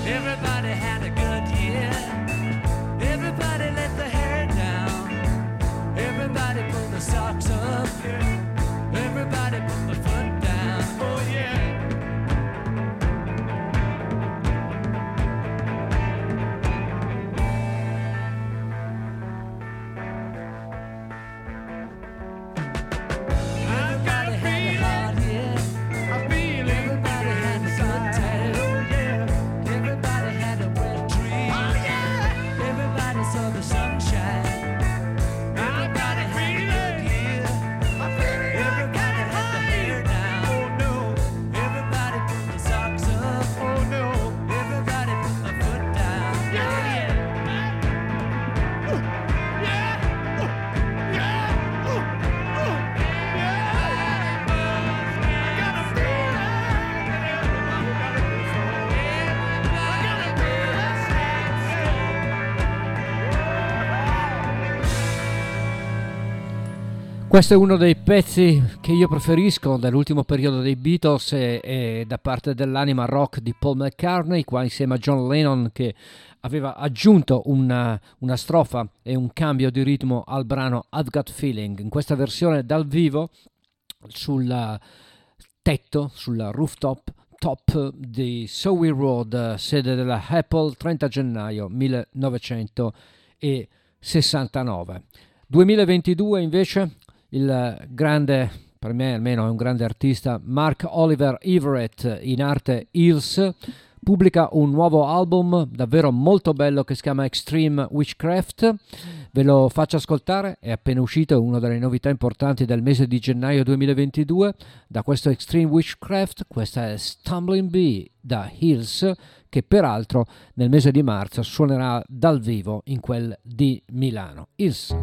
Everybody had a good year. Everybody let the hair down. Everybody pulled the socks up. Everybody put the foot down. Oh yeah. Questo è uno dei pezzi che io preferisco dell'ultimo periodo dei Beatles e, e da parte dell'anima rock di Paul McCartney, qua insieme a John Lennon, che aveva aggiunto una, una strofa e un cambio di ritmo al brano I've Got Feeling. In questa versione dal vivo sul tetto, sul rooftop top di Surrey Road, sede della Apple, trenta gennaio millenovecentosessantanove. duemilaventidue invece il grande, per me almeno è un grande artista, Mark Oliver Everett, in arte Hills, pubblica un nuovo album davvero molto bello che si chiama Extreme Witchcraft. Ve lo faccio ascoltare, è appena uscito, è una delle novità importanti del mese di gennaio duemilaventidue. Da questo Extreme Witchcraft, questa è Stumbling Bee da Hills, che peraltro nel mese di marzo suonerà dal vivo in quel di Milano. Hills.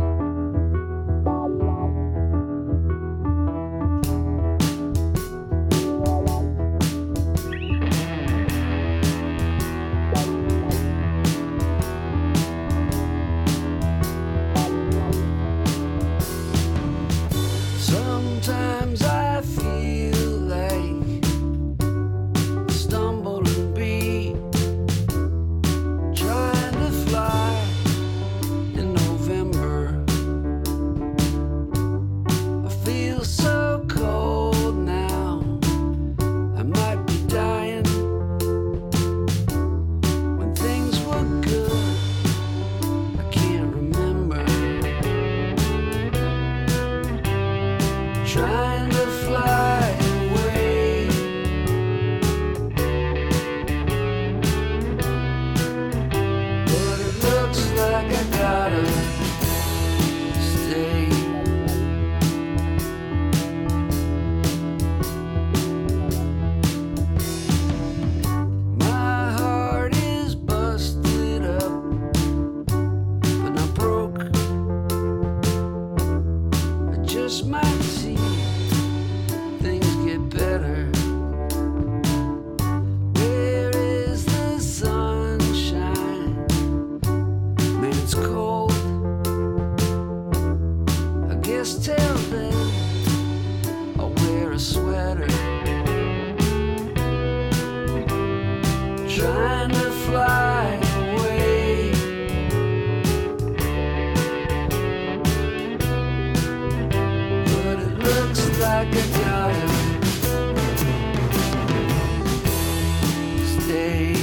Sometimes I feel like a stumbling bee trying to fly in November. I feel so cold now, I might be dying. When things were good, I can't remember. Trying to fly away, but it looks like I gotta stay. My heart is busted up, but not broke. I just might see things get better. Where is the sunshine? Man, it's cold. I guess till then I'll wear a sweater. Trying to fly away, but it looks like I gotta stay.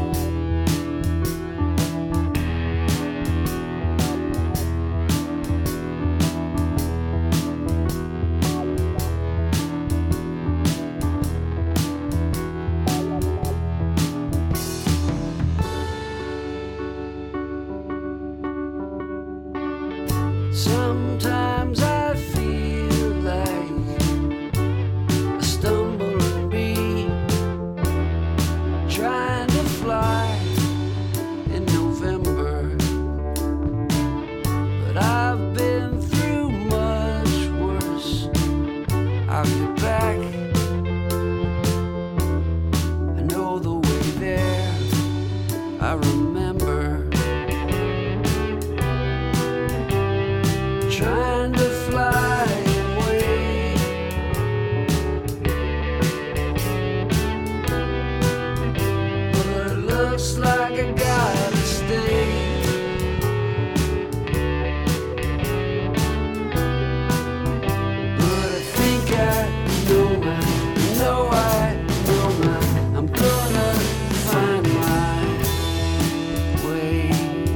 Sometimes I feel like a stumbling bee trying to fly in November, but I've been through much worse. I'll get back, I know the way there, I remember. Trying to fly away, but it looks like like I gotta stay. But I think I know I know I know my I'm gonna find my way.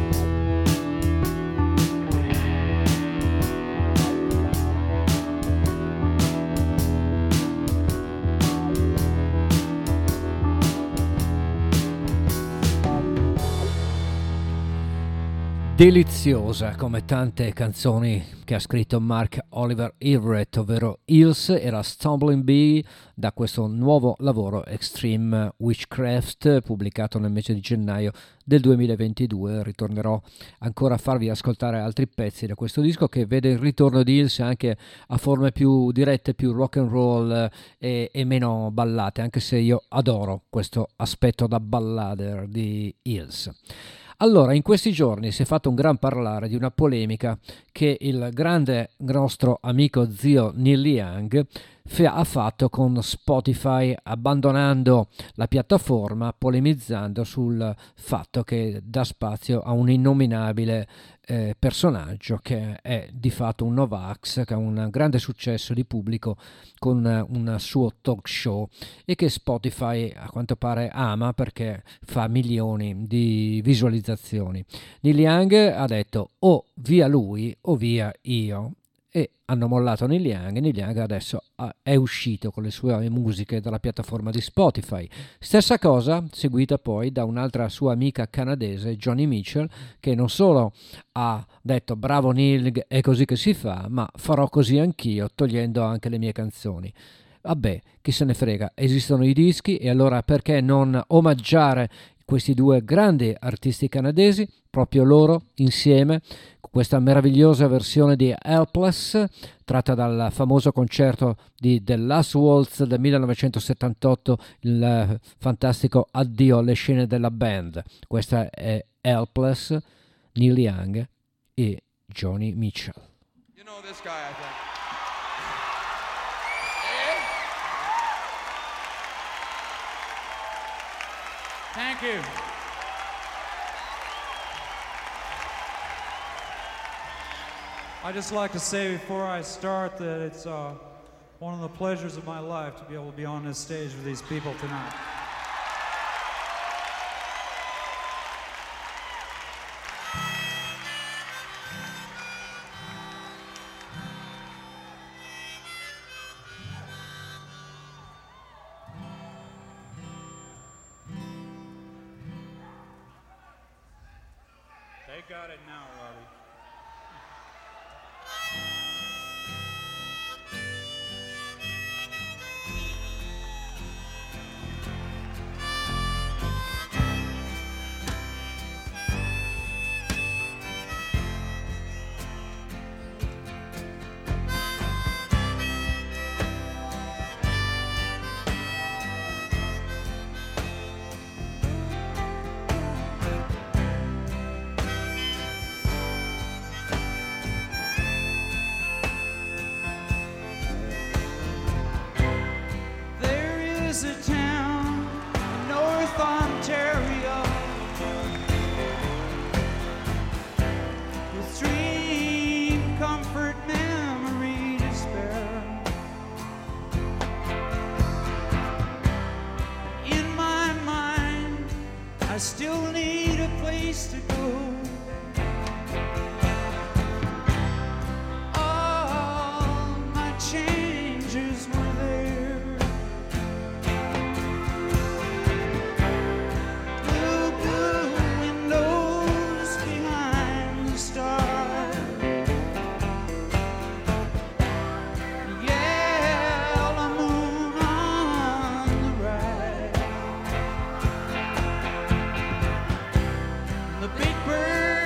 Deliziosa come tante canzoni che ha scritto Mark Oliver Everett, ovvero Hills, era Stumbling Bee da questo nuovo lavoro Extreme Witchcraft pubblicato nel mese di gennaio del duemilaventidue. Ritornerò ancora a farvi ascoltare altri pezzi da questo disco che vede il ritorno di Hills anche a forme più dirette, più rock and roll e, e meno ballate, anche se io adoro questo aspetto da ballader di Hills. Allora, in questi giorni si è fatto un gran parlare di una polemica che il grande nostro amico zio Neil Young ha fatto con Spotify, abbandonando la piattaforma, polemizzando sul fatto che dà spazio a un innominabile eh, personaggio che è di fatto un Novax, che ha un grande successo di pubblico con un suo talk show e che Spotify a quanto pare ama perché fa milioni di visualizzazioni. Neil Young ha detto o via lui o via io, e hanno mollato Neil Young e Neil Young adesso è uscito con le sue musiche dalla piattaforma di Spotify. Stessa cosa seguita poi da un'altra sua amica canadese, Joni Mitchell, che non solo ha detto bravo Neil, è così che si fa, ma farò così anch'io togliendo anche le mie canzoni. Vabbè, chi se ne frega, esistono i dischi e allora perché non omaggiare questi due grandi artisti canadesi, proprio loro insieme, con questa meravigliosa versione di Helpless tratta dal famoso concerto di The Last Waltz del millenovecentosettantotto, il fantastico addio alle scene della band. Questa è Helpless, Neil Young e Joni Mitchell. You know this guy, I think. Thank you. I'd just like to say before I start that it's uh, one of the pleasures of my life to be able to be on this stage with these people tonight. They got it now, Robbie. There's a town in North Ontario with dream, comfort, memory to spare. In my mind, I still need a place to go. All my changes were there. Blue, blue windows behind the stars. Yellow moon on the right. The big bird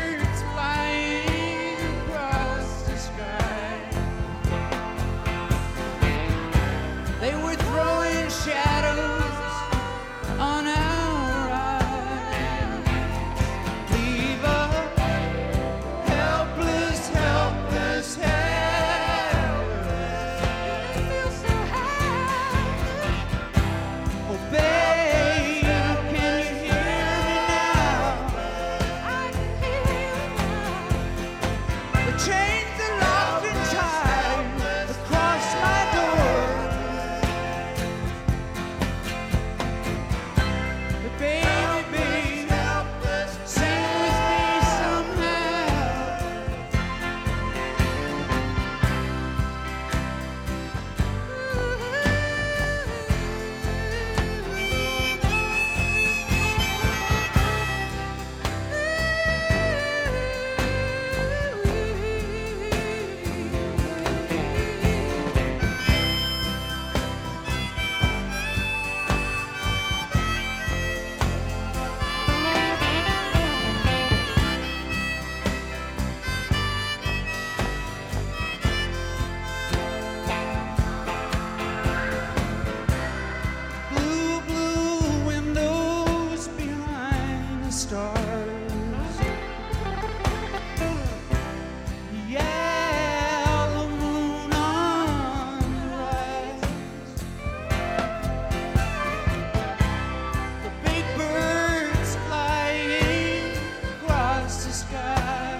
stars. Yellow moon on the rise. The big birds flying across the sky.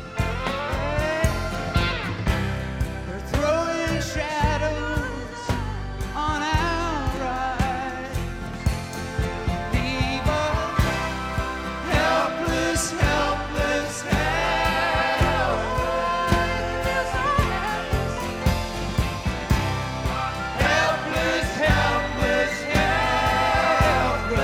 They're throwing shadows on our eyes. Leave us helpless, helpless, helpless. Helpless, helpless, helpless.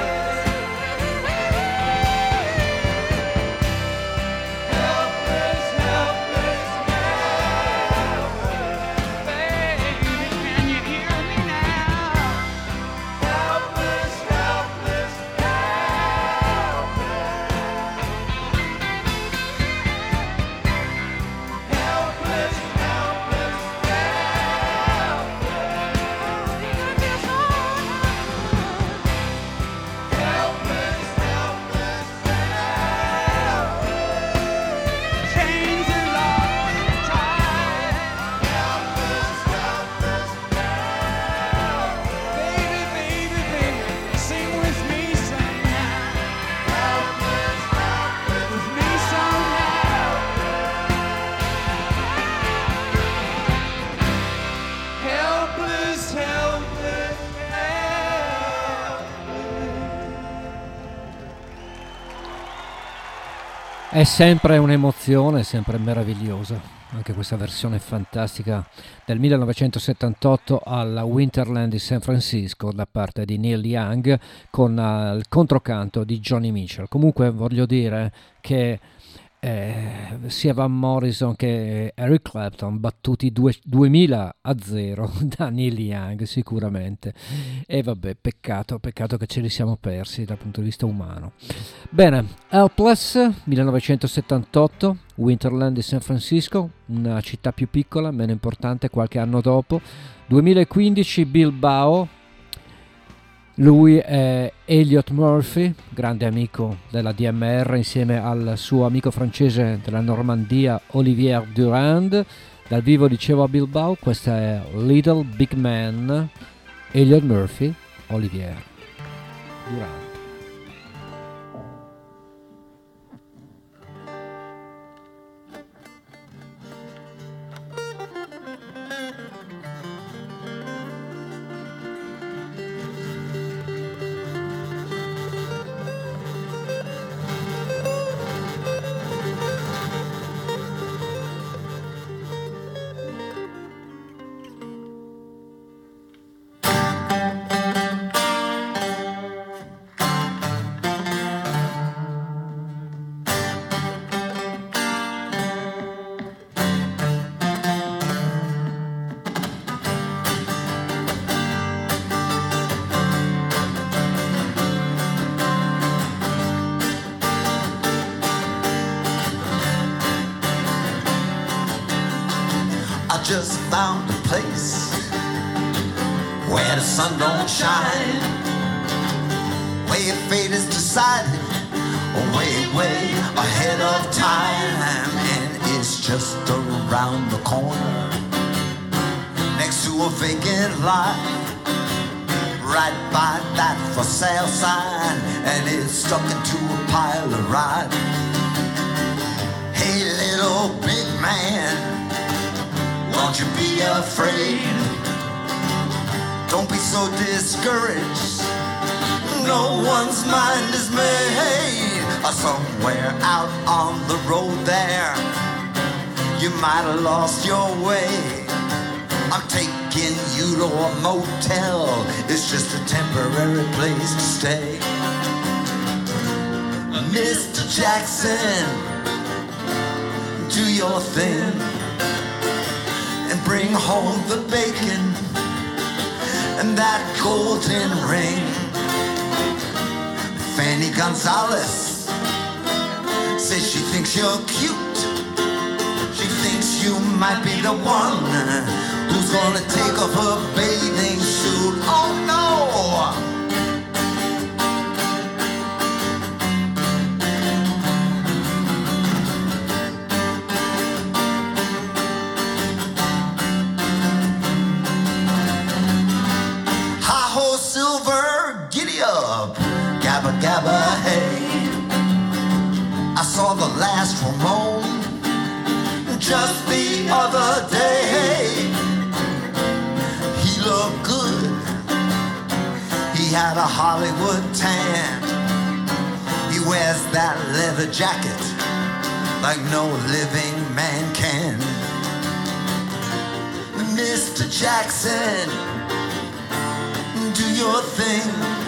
Helpless, helpless, helpless. Baby, can you hear me now? Helpless, helpless, helpless. Helpless, helpless, helpless. Helpless, helpless, chains are locked and tied. Helpless, helpless, baby, baby, baby, sing with me somehow. Helpless, helpless, with me somehow. Helpless, helpless, È sempre un'emozione, è sempre meravigliosa. Anche questa versione fantastica del millenovecentosettantotto alla Winterland di San Francisco da parte di Neil Young con uh, il controcanto di Johnny Mitchell. Comunque voglio dire che eh, sia Van Morrison che Eric Clapton battuti due, duemila a zero da Neil Young sicuramente, e vabbè, peccato, peccato che ce li siamo persi dal punto di vista umano. Bene, Helpless millenovecentosettantotto, Winterland di San Francisco, una città più piccola, meno importante qualche anno dopo. duemilaquindici Bilbao, lui è Elliot Murphy, grande amico della D M R, insieme al suo amico francese della Normandia Olivier Durand. Dal vivo, dicevo, a Bilbao. Questa è Little Big Man, Elliot Murphy, Olivier Durand. Just found a place where the sun don't shine, where fate is decided way, way ahead of time, and it's just around the corner, next to a vacant lot, right by that for sale sign, and it's stuck into a pile of rot. Hey, little big man, don't you be afraid, don't be so discouraged, no one's mind is made. Somewhere out on the road there, you might have lost your way. I'm taking you to a motel, it's just a temporary place to stay. Mister Jackson, do your thing and bring home the bacon and that golden ring. Fanny Gonzalez says she thinks you're cute. She thinks you might be the one who's gonna take off her bathing suit. Oh no! saw the last Ramon just the other day. He looked good. He had a Hollywood tan. He wears that leather jacket like no living man can. Mister Jackson, do your thing.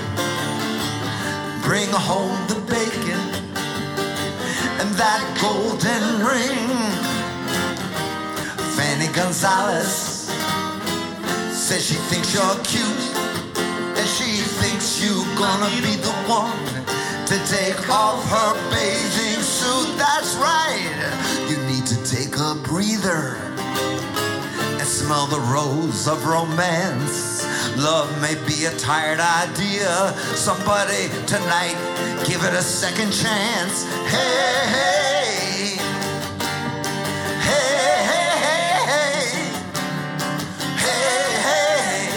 Bring home the bacon and that golden ring. Fanny Gonzalez says she thinks you're cute, and she thinks you're gonna be the one to take off her bathing suit. That's right, you need to take a breather and smell the rose of romance. Love may be a tired idea. Somebody tonight, give it a second chance. Hey, hey, hey, hey, hey, hey, hey,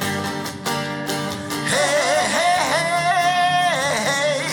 hey, hey, hey, hey.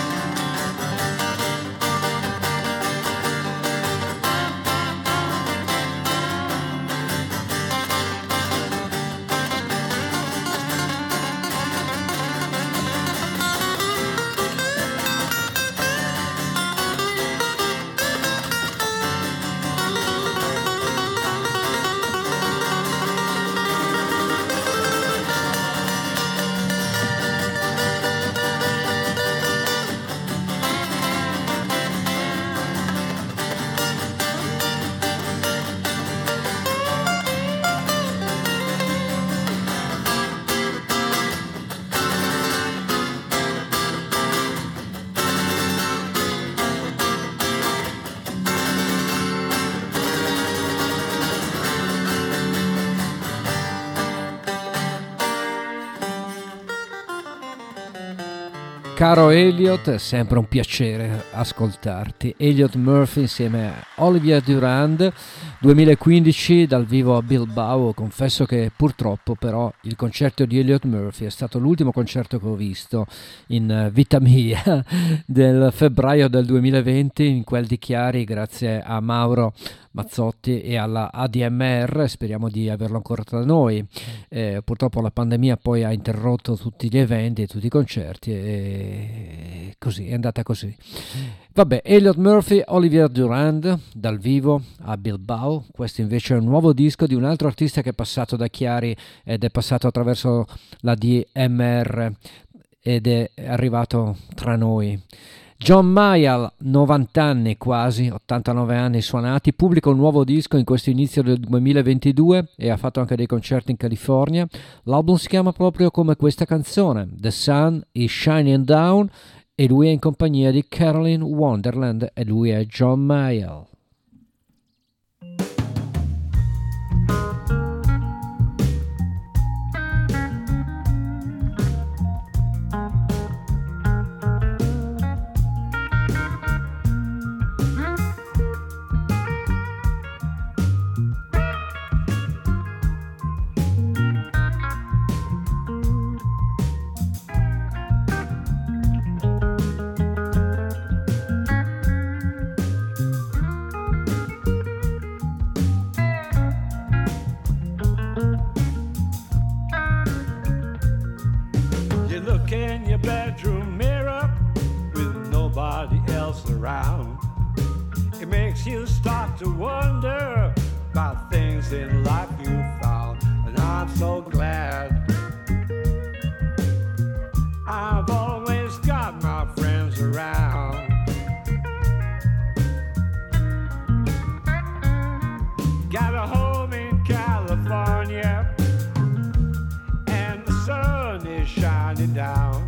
Caro Elliot, è sempre un piacere ascoltarti. Elliot Murphy insieme a Olivia Durand, duemilaquindici dal vivo a Bilbao. Confesso che purtroppo però il concerto di Elliot Murphy è stato l'ultimo concerto che ho visto in vita mia del febbraio del duemilaventi, in quel di Chiari, grazie a Mauro Mazzotti e alla A D M R. Speriamo di averlo ancora tra noi. Eh, purtroppo la pandemia poi ha interrotto tutti gli eventi e tutti i concerti e così è andata così. Vabbè, Elliot Murphy, Olivia Durand dal vivo a Bilbao. Questo invece è un nuovo disco di un altro artista che è passato da Chiari ed è passato attraverso la D M R ed è arrivato tra noi. John Mayall, novanta anni quasi, ottantanove anni suonati, pubblica un nuovo disco in questo inizio del duemilaventidue e ha fatto anche dei concerti in California. L'album si chiama proprio come questa canzone, The Sun is Shining Down, e lui è in compagnia di Carolyn Wonderland e lui è John Mayall. Around. It makes you start to wonder about things in life you found, and I'm so glad I've always got my friends around. Got a home in California and the sun is shining down.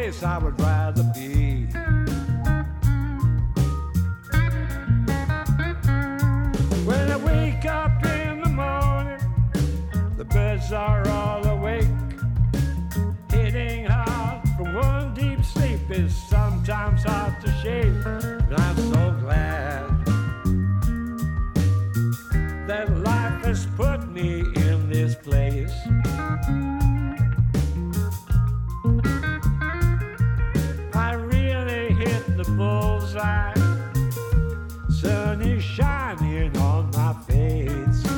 place I would rather be. When I wake up in the morning, the birds are all awake. Hitting hard from one deep sleep is sometimes hard to shake. But I'm so glad that life has put me in this place. I really hit the bullseye. Sun is shining on my face.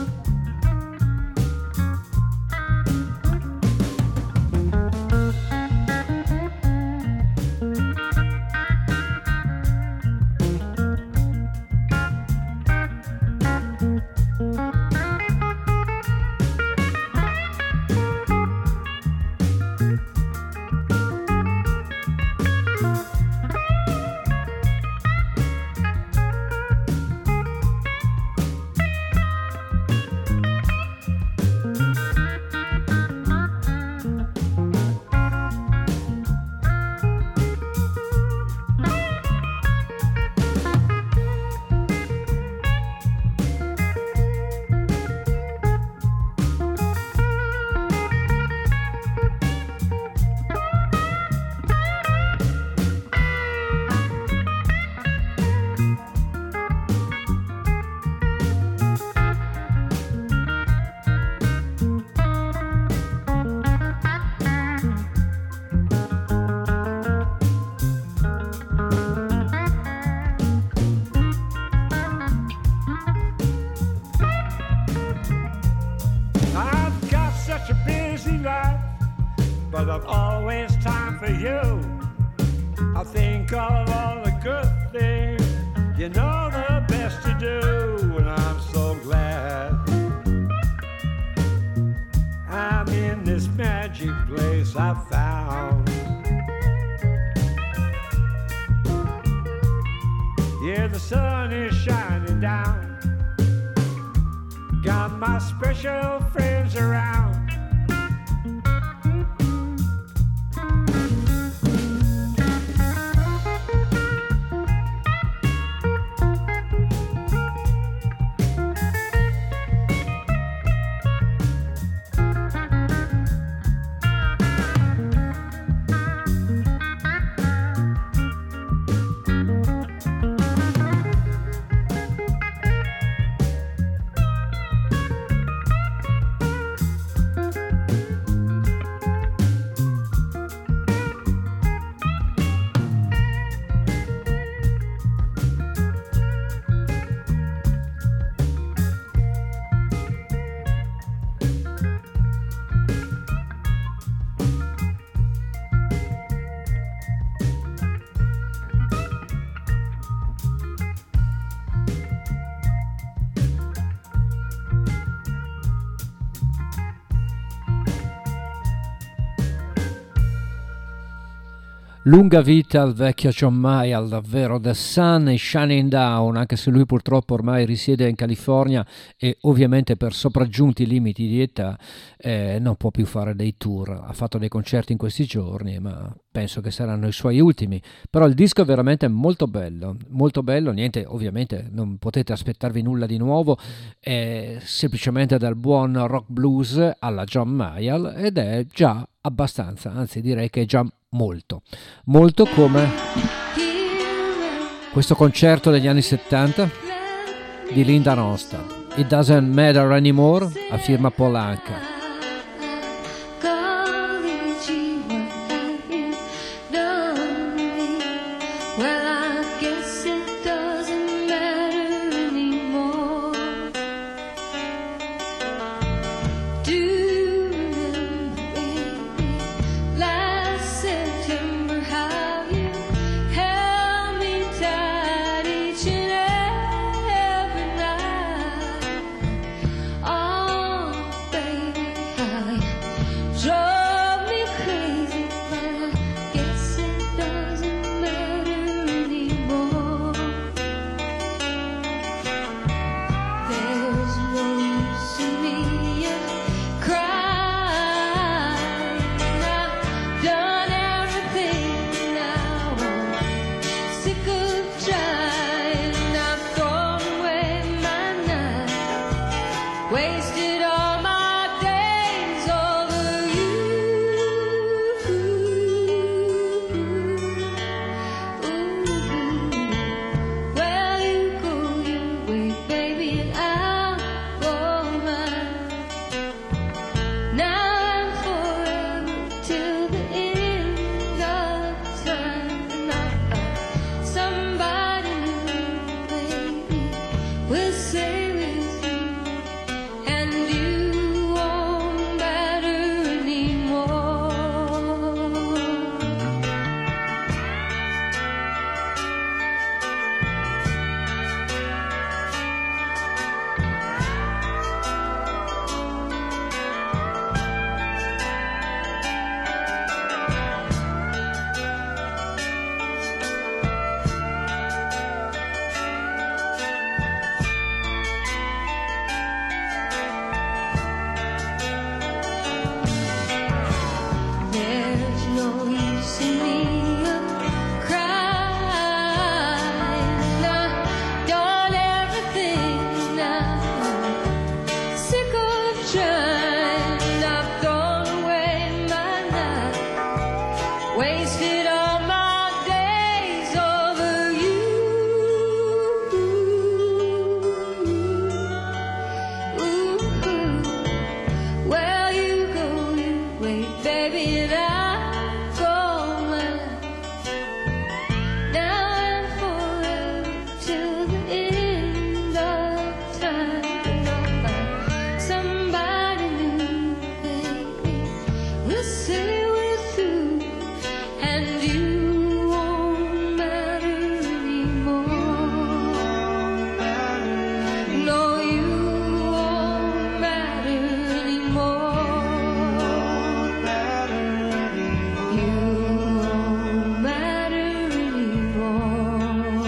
But I've always time for you. I think of all the good things you know the best to do. And I'm so glad I'm in this magic place I found. Yeah, the sun is shining down. Got my special friends around. Lunga vita al vecchio John Mayall, davvero. The Sun is Shining Down, anche se lui purtroppo ormai risiede in California e ovviamente per sopraggiunti limiti di età eh, non può più fare dei tour. Ha fatto dei concerti in questi giorni, ma penso che saranno i suoi ultimi. Però il disco è veramente molto bello, molto bello. Niente, ovviamente non potete aspettarvi nulla di nuovo, è semplicemente dal buon rock blues alla John Mayall ed è già abbastanza, anzi direi che è già molto, molto come questo concerto degli anni settanta di Linda Ronstadt, It Doesn't Matter Anymore, a firma Paul Anka. Baby wasted all my days over you. Ooh, well, you go your way, baby, and I go mine. Now and forever till the end of time. Somebody new, baby, will say we're through, and you won't matter anymore. No, you won't matter anymore. You won't matter anymore.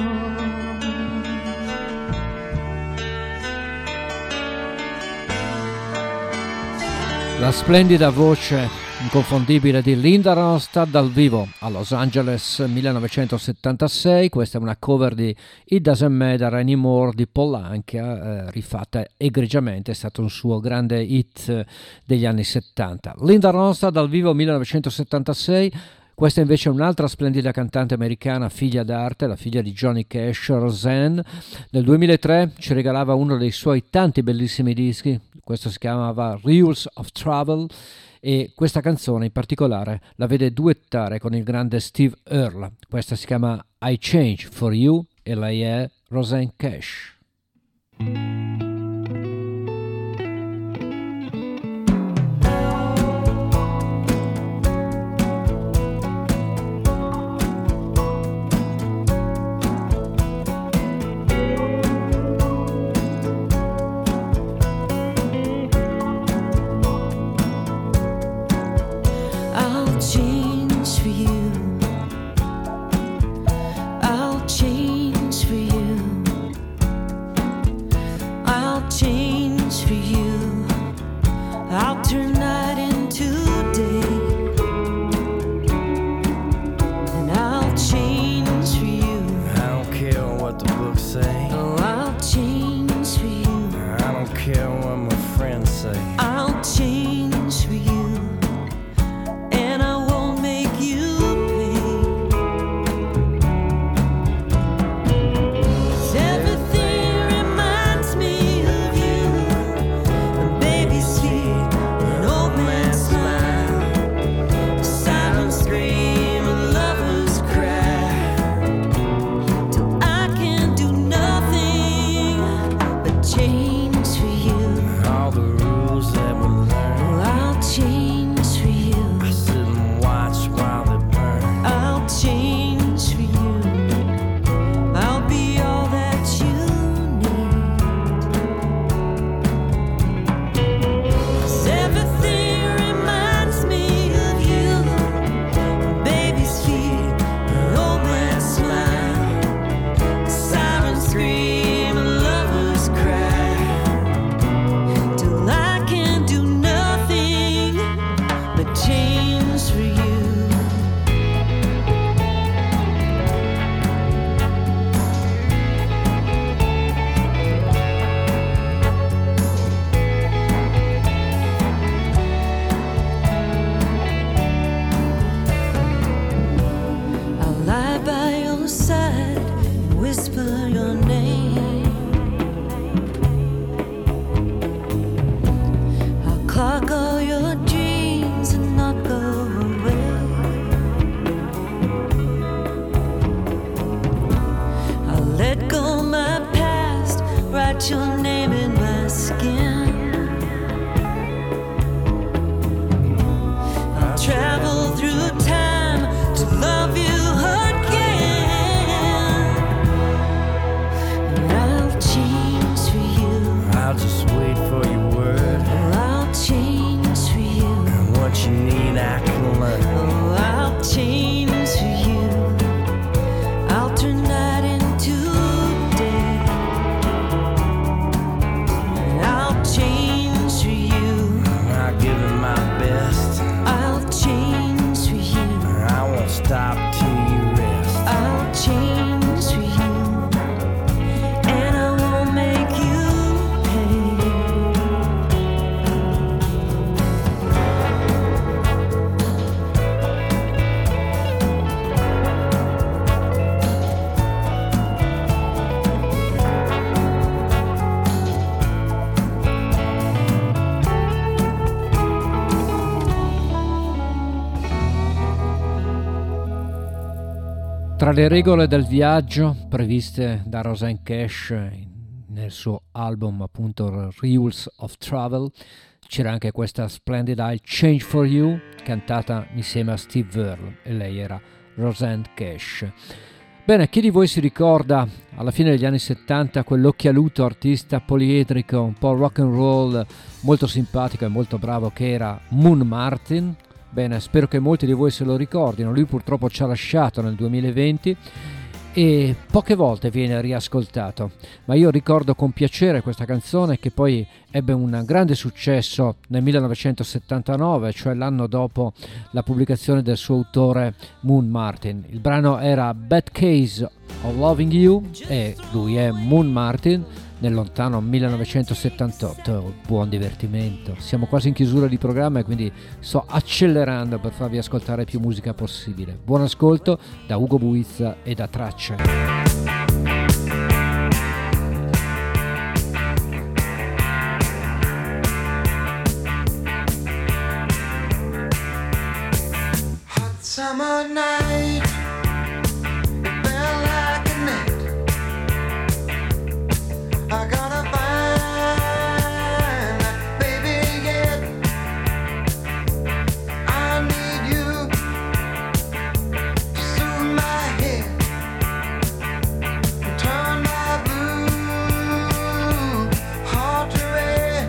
La splendida voce inconfondibile di Linda Ronstadt dal vivo a Los Angeles millenovecentosettantasei. Questa è una cover di It Doesn't Matter Anymore di Paul Anka, eh, rifatta egregiamente, è stato un suo grande hit degli anni settanta. Linda Ronstadt dal vivo millenovecentosettantasei. Questa invece è un'altra splendida cantante americana, figlia d'arte, la figlia di Johnny Cash, Roseanne. Nel duemilatré ci regalava uno dei suoi tanti bellissimi dischi, questo si chiamava Rules of Travel, e questa canzone in particolare la vede duettare con il grande Steve Earle. Questa si chiama I Change For You e lei è Roseanne Cash. I'll change for you. I'll change for you. I'll change for you. I'll turn night into day. And I'll change for you. I don't care what the books say. Oh, I'll change for you. I don't care what my friends say. I'll change for you. And I won't make you pay. 'Cause everything reminds me of you. A baby's feet, an old man's smile, a silent scream, a lover's cry. Till I can do nothing but change for you. All the rules that we learn, Oh, I'll change for you. I sit and watch while they burn. I'll change for you. I'll be all that you need. 'Cause everything reminds me of you. Baby's feet, an old man's smile, a siren scream, a lover's cry. Till I can do nothing but change for you. I'll lie by your side and whisper your name. I'll clock all your dreams and not go away. I'll let go my past, write your name in my skin. I'll travel through time to love you again. Tra le regole del viaggio previste da Rosanne Cash nel suo album appunto Rules of Travel c'era anche questa splendida I'll Change For You cantata insieme a Steve Earle e lei era Rosanne Cash. Bene, chi di voi si ricorda alla fine degli anni settanta quell'occhialuto artista poliedrico, un po' rock and roll, molto simpatico e molto bravo che era Moon Martin? Bene, spero che molti di voi se lo ricordino. Lui purtroppo ci ha lasciato nel duemilaventi e poche volte viene riascoltato, ma io ricordo con piacere questa canzone che poi ebbe un grande successo nel millenovecentosettantanove, cioè l'anno dopo la pubblicazione del suo autore Moon Martin. Il brano era Bad Case of Loving You e lui è Moon Martin nel lontano millenovecentosettantotto. Buon divertimento, siamo quasi in chiusura di programma e quindi sto accelerando per farvi ascoltare più musica possibile. Buon ascolto da Ugo Buizza e da Tracce. Hot summer night, it felt like a net. I gotta find that baby yet. I need you to soothe my head and turn my blue heart to red.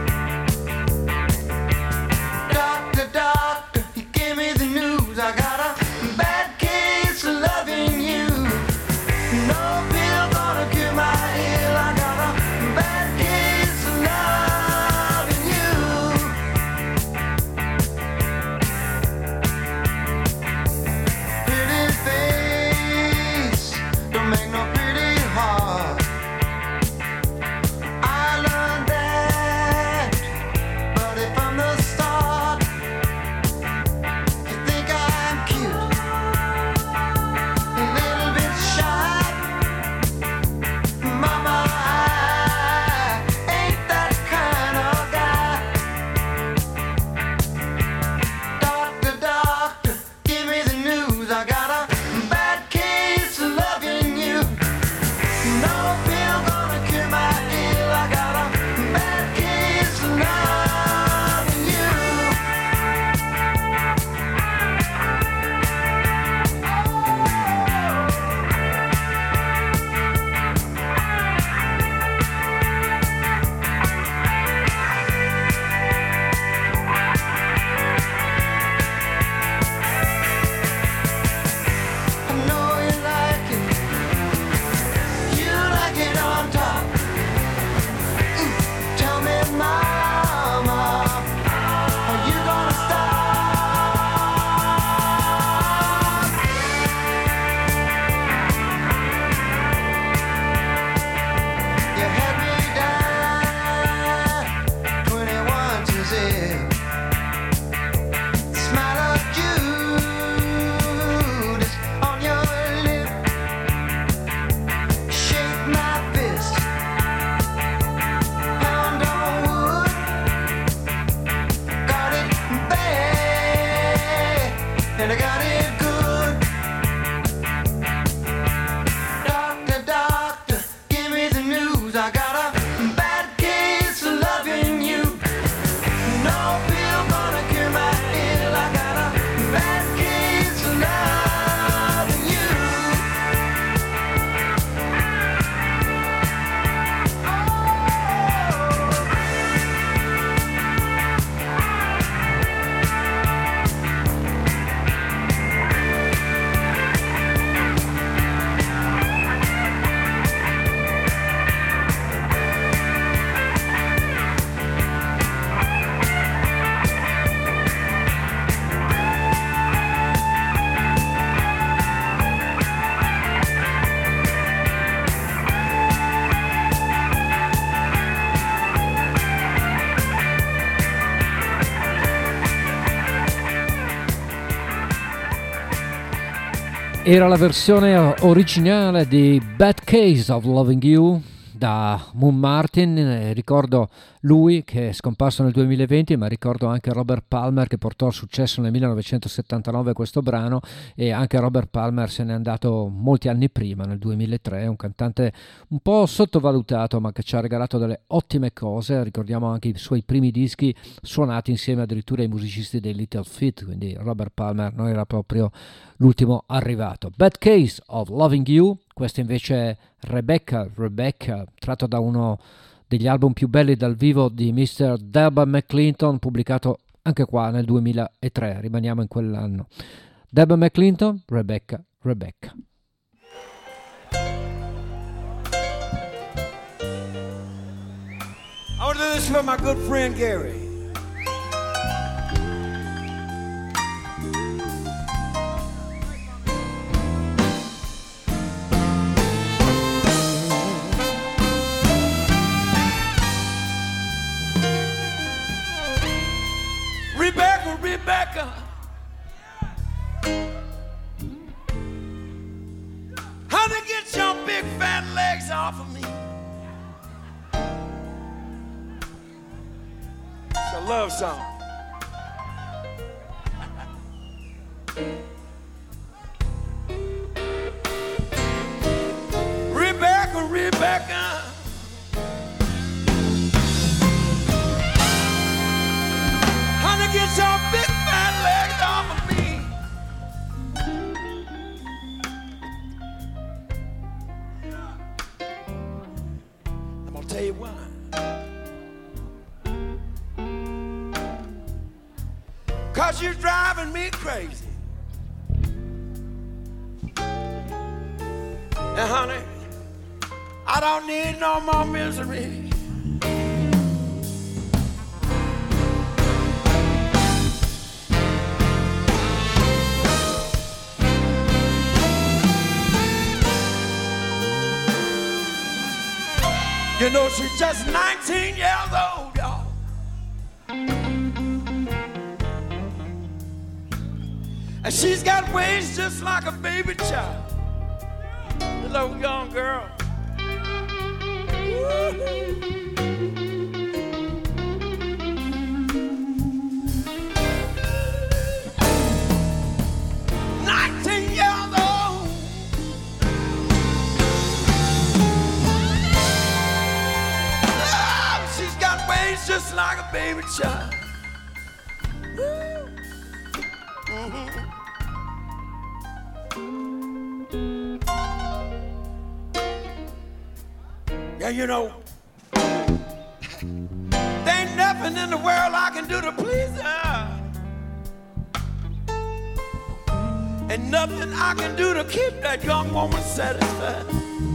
Doctor, doctor, he gave me the news. I got a bad case of loving you. No pill gonna cure my ill. I got a bad case of loving you. Pretty face don't make no pretty heart. I learned that, but if from the start you think I'm cute, a little bit shy, mama, I ain't that kind of guy. Doctor, doctor, give me the news. I got a bad case of loving you. No pill gonna cure my ill. I got a bad case of loving you. I know you like it. You like it on top. Ooh, tell me, mama, are you gonna stop? You had me down twenty-one to zero. Smile of Judas on your lip. Shake my fist. Pound on wood. Got it bad, and I got it good. Doctor, doctor, give me the news. I got a bad case of loving you. No pill gonna cure my ill. I got a bad case of loving you. Era la versione originale di Bad Case of Loving You da Moon Martin. Eh, ricordo lui che è scomparso nel duemilaventi, ma ricordo anche Robert Palmer che portò al successo nel millenovecentosettantanove questo brano, e anche Robert Palmer se n'è andato molti anni prima, nel duemilatré. È un cantante un po' sottovalutato ma che ci ha regalato delle ottime cose. Ricordiamo anche i suoi primi dischi suonati insieme addirittura ai musicisti dei Little Feat, quindi Robert Palmer non era proprio l'ultimo arrivato. Bad Case of Loving You, questo invece è Rebecca, Rebecca, tratto da uno degli album più belli dal vivo di mister Delbert McClinton, pubblicato anche qua nel duemilatré, rimaniamo in quell'anno. Delbert McClinton, Rebecca, Rebecca. I want to do this for my good friend Gary. Rebecca, Rebecca, honey, get your big fat legs off of me. It's a love song. Rebecca, Rebecca, get your big fat legs off of me. I'm gonna tell you why. 'Cause you're driving me crazy. And honey, I don't need no more misery. You know she's just nineteen years old, y'all. And she's got waist just like a baby child. The little young girl. nineteen years old. Just like a baby child. Mm-hmm. Yeah, you know, there ain't nothing in the world I can do to please her, and nothing I can do to keep that young woman satisfied.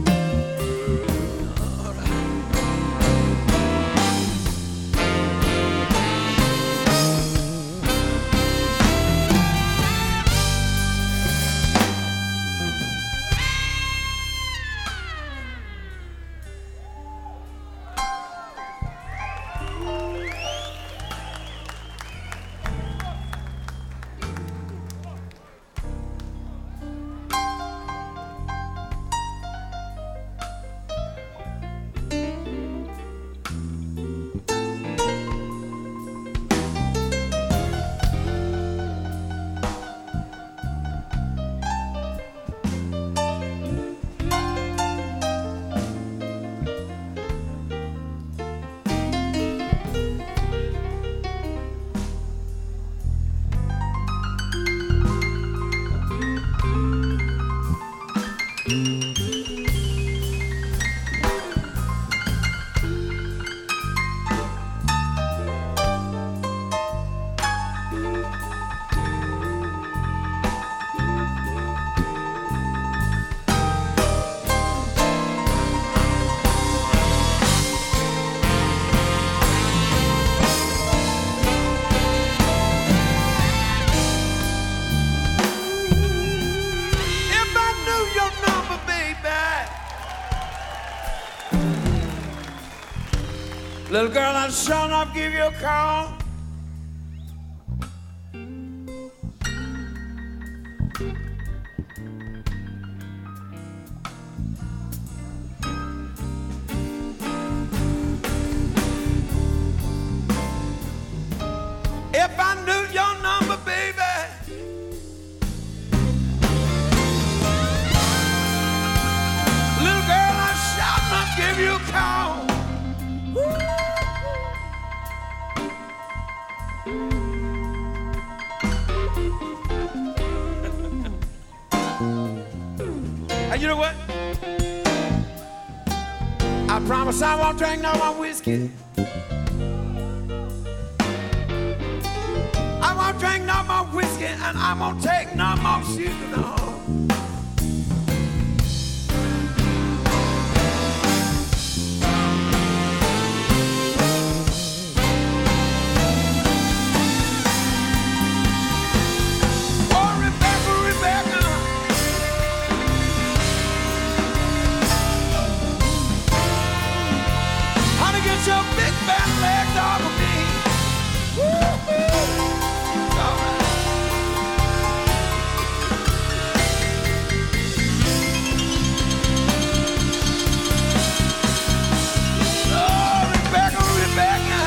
Little girl, I'd sure enough give you a call. And you know what? I promise I won't drink no more whiskey. I won't drink no more whiskey, and I won't take no more sugar, no. Your big fat legs off of me. Woo-hoo. All right. Oh, Rebecca, Rebecca.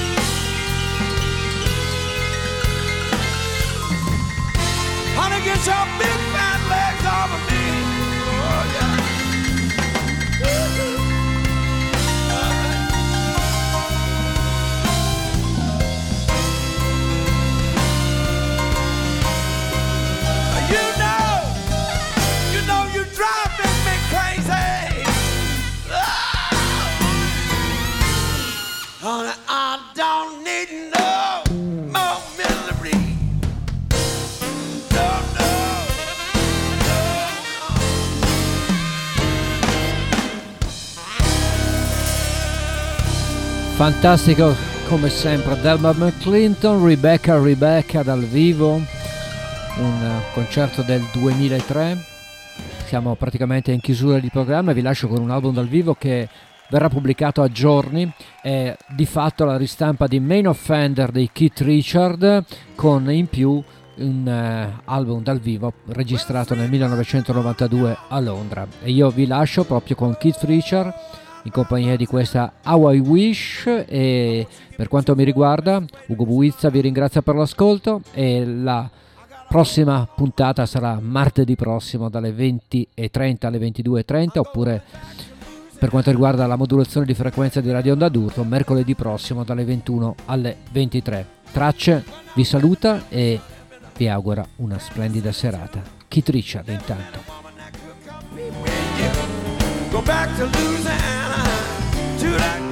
Honey, get your big fat legs off of me. Oh, yeah. Woo-hoo. Honey, I don't need no more misery. No, no, no, no. Fantastico come sempre Delbert McClinton, Rebecca Rebecca dal vivo, un concerto del duemilatré. Siamo praticamente in chiusura di programma e vi lascio con un album dal vivo che verrà pubblicato a giorni, è di fatto la ristampa di Main Offender di Keith Richard, con in più un uh, album dal vivo registrato nel millenovecentonovantadue a Londra. E io vi lascio proprio con Keith Richard in compagnia di questa How I Wish, e per quanto mi riguarda Ugo Buizza vi ringrazia per l'ascolto, e la prossima puntata sarà martedì prossimo dalle venti e trenta alle ventidue e trenta, oppure per quanto riguarda la modulazione di frequenza di Radio Onda d'Urto, mercoledì prossimo dalle ventuno alle ventitré. Tracce vi saluta e vi augura una splendida serata. Keith Richard intanto. Go back to Louisiana, to that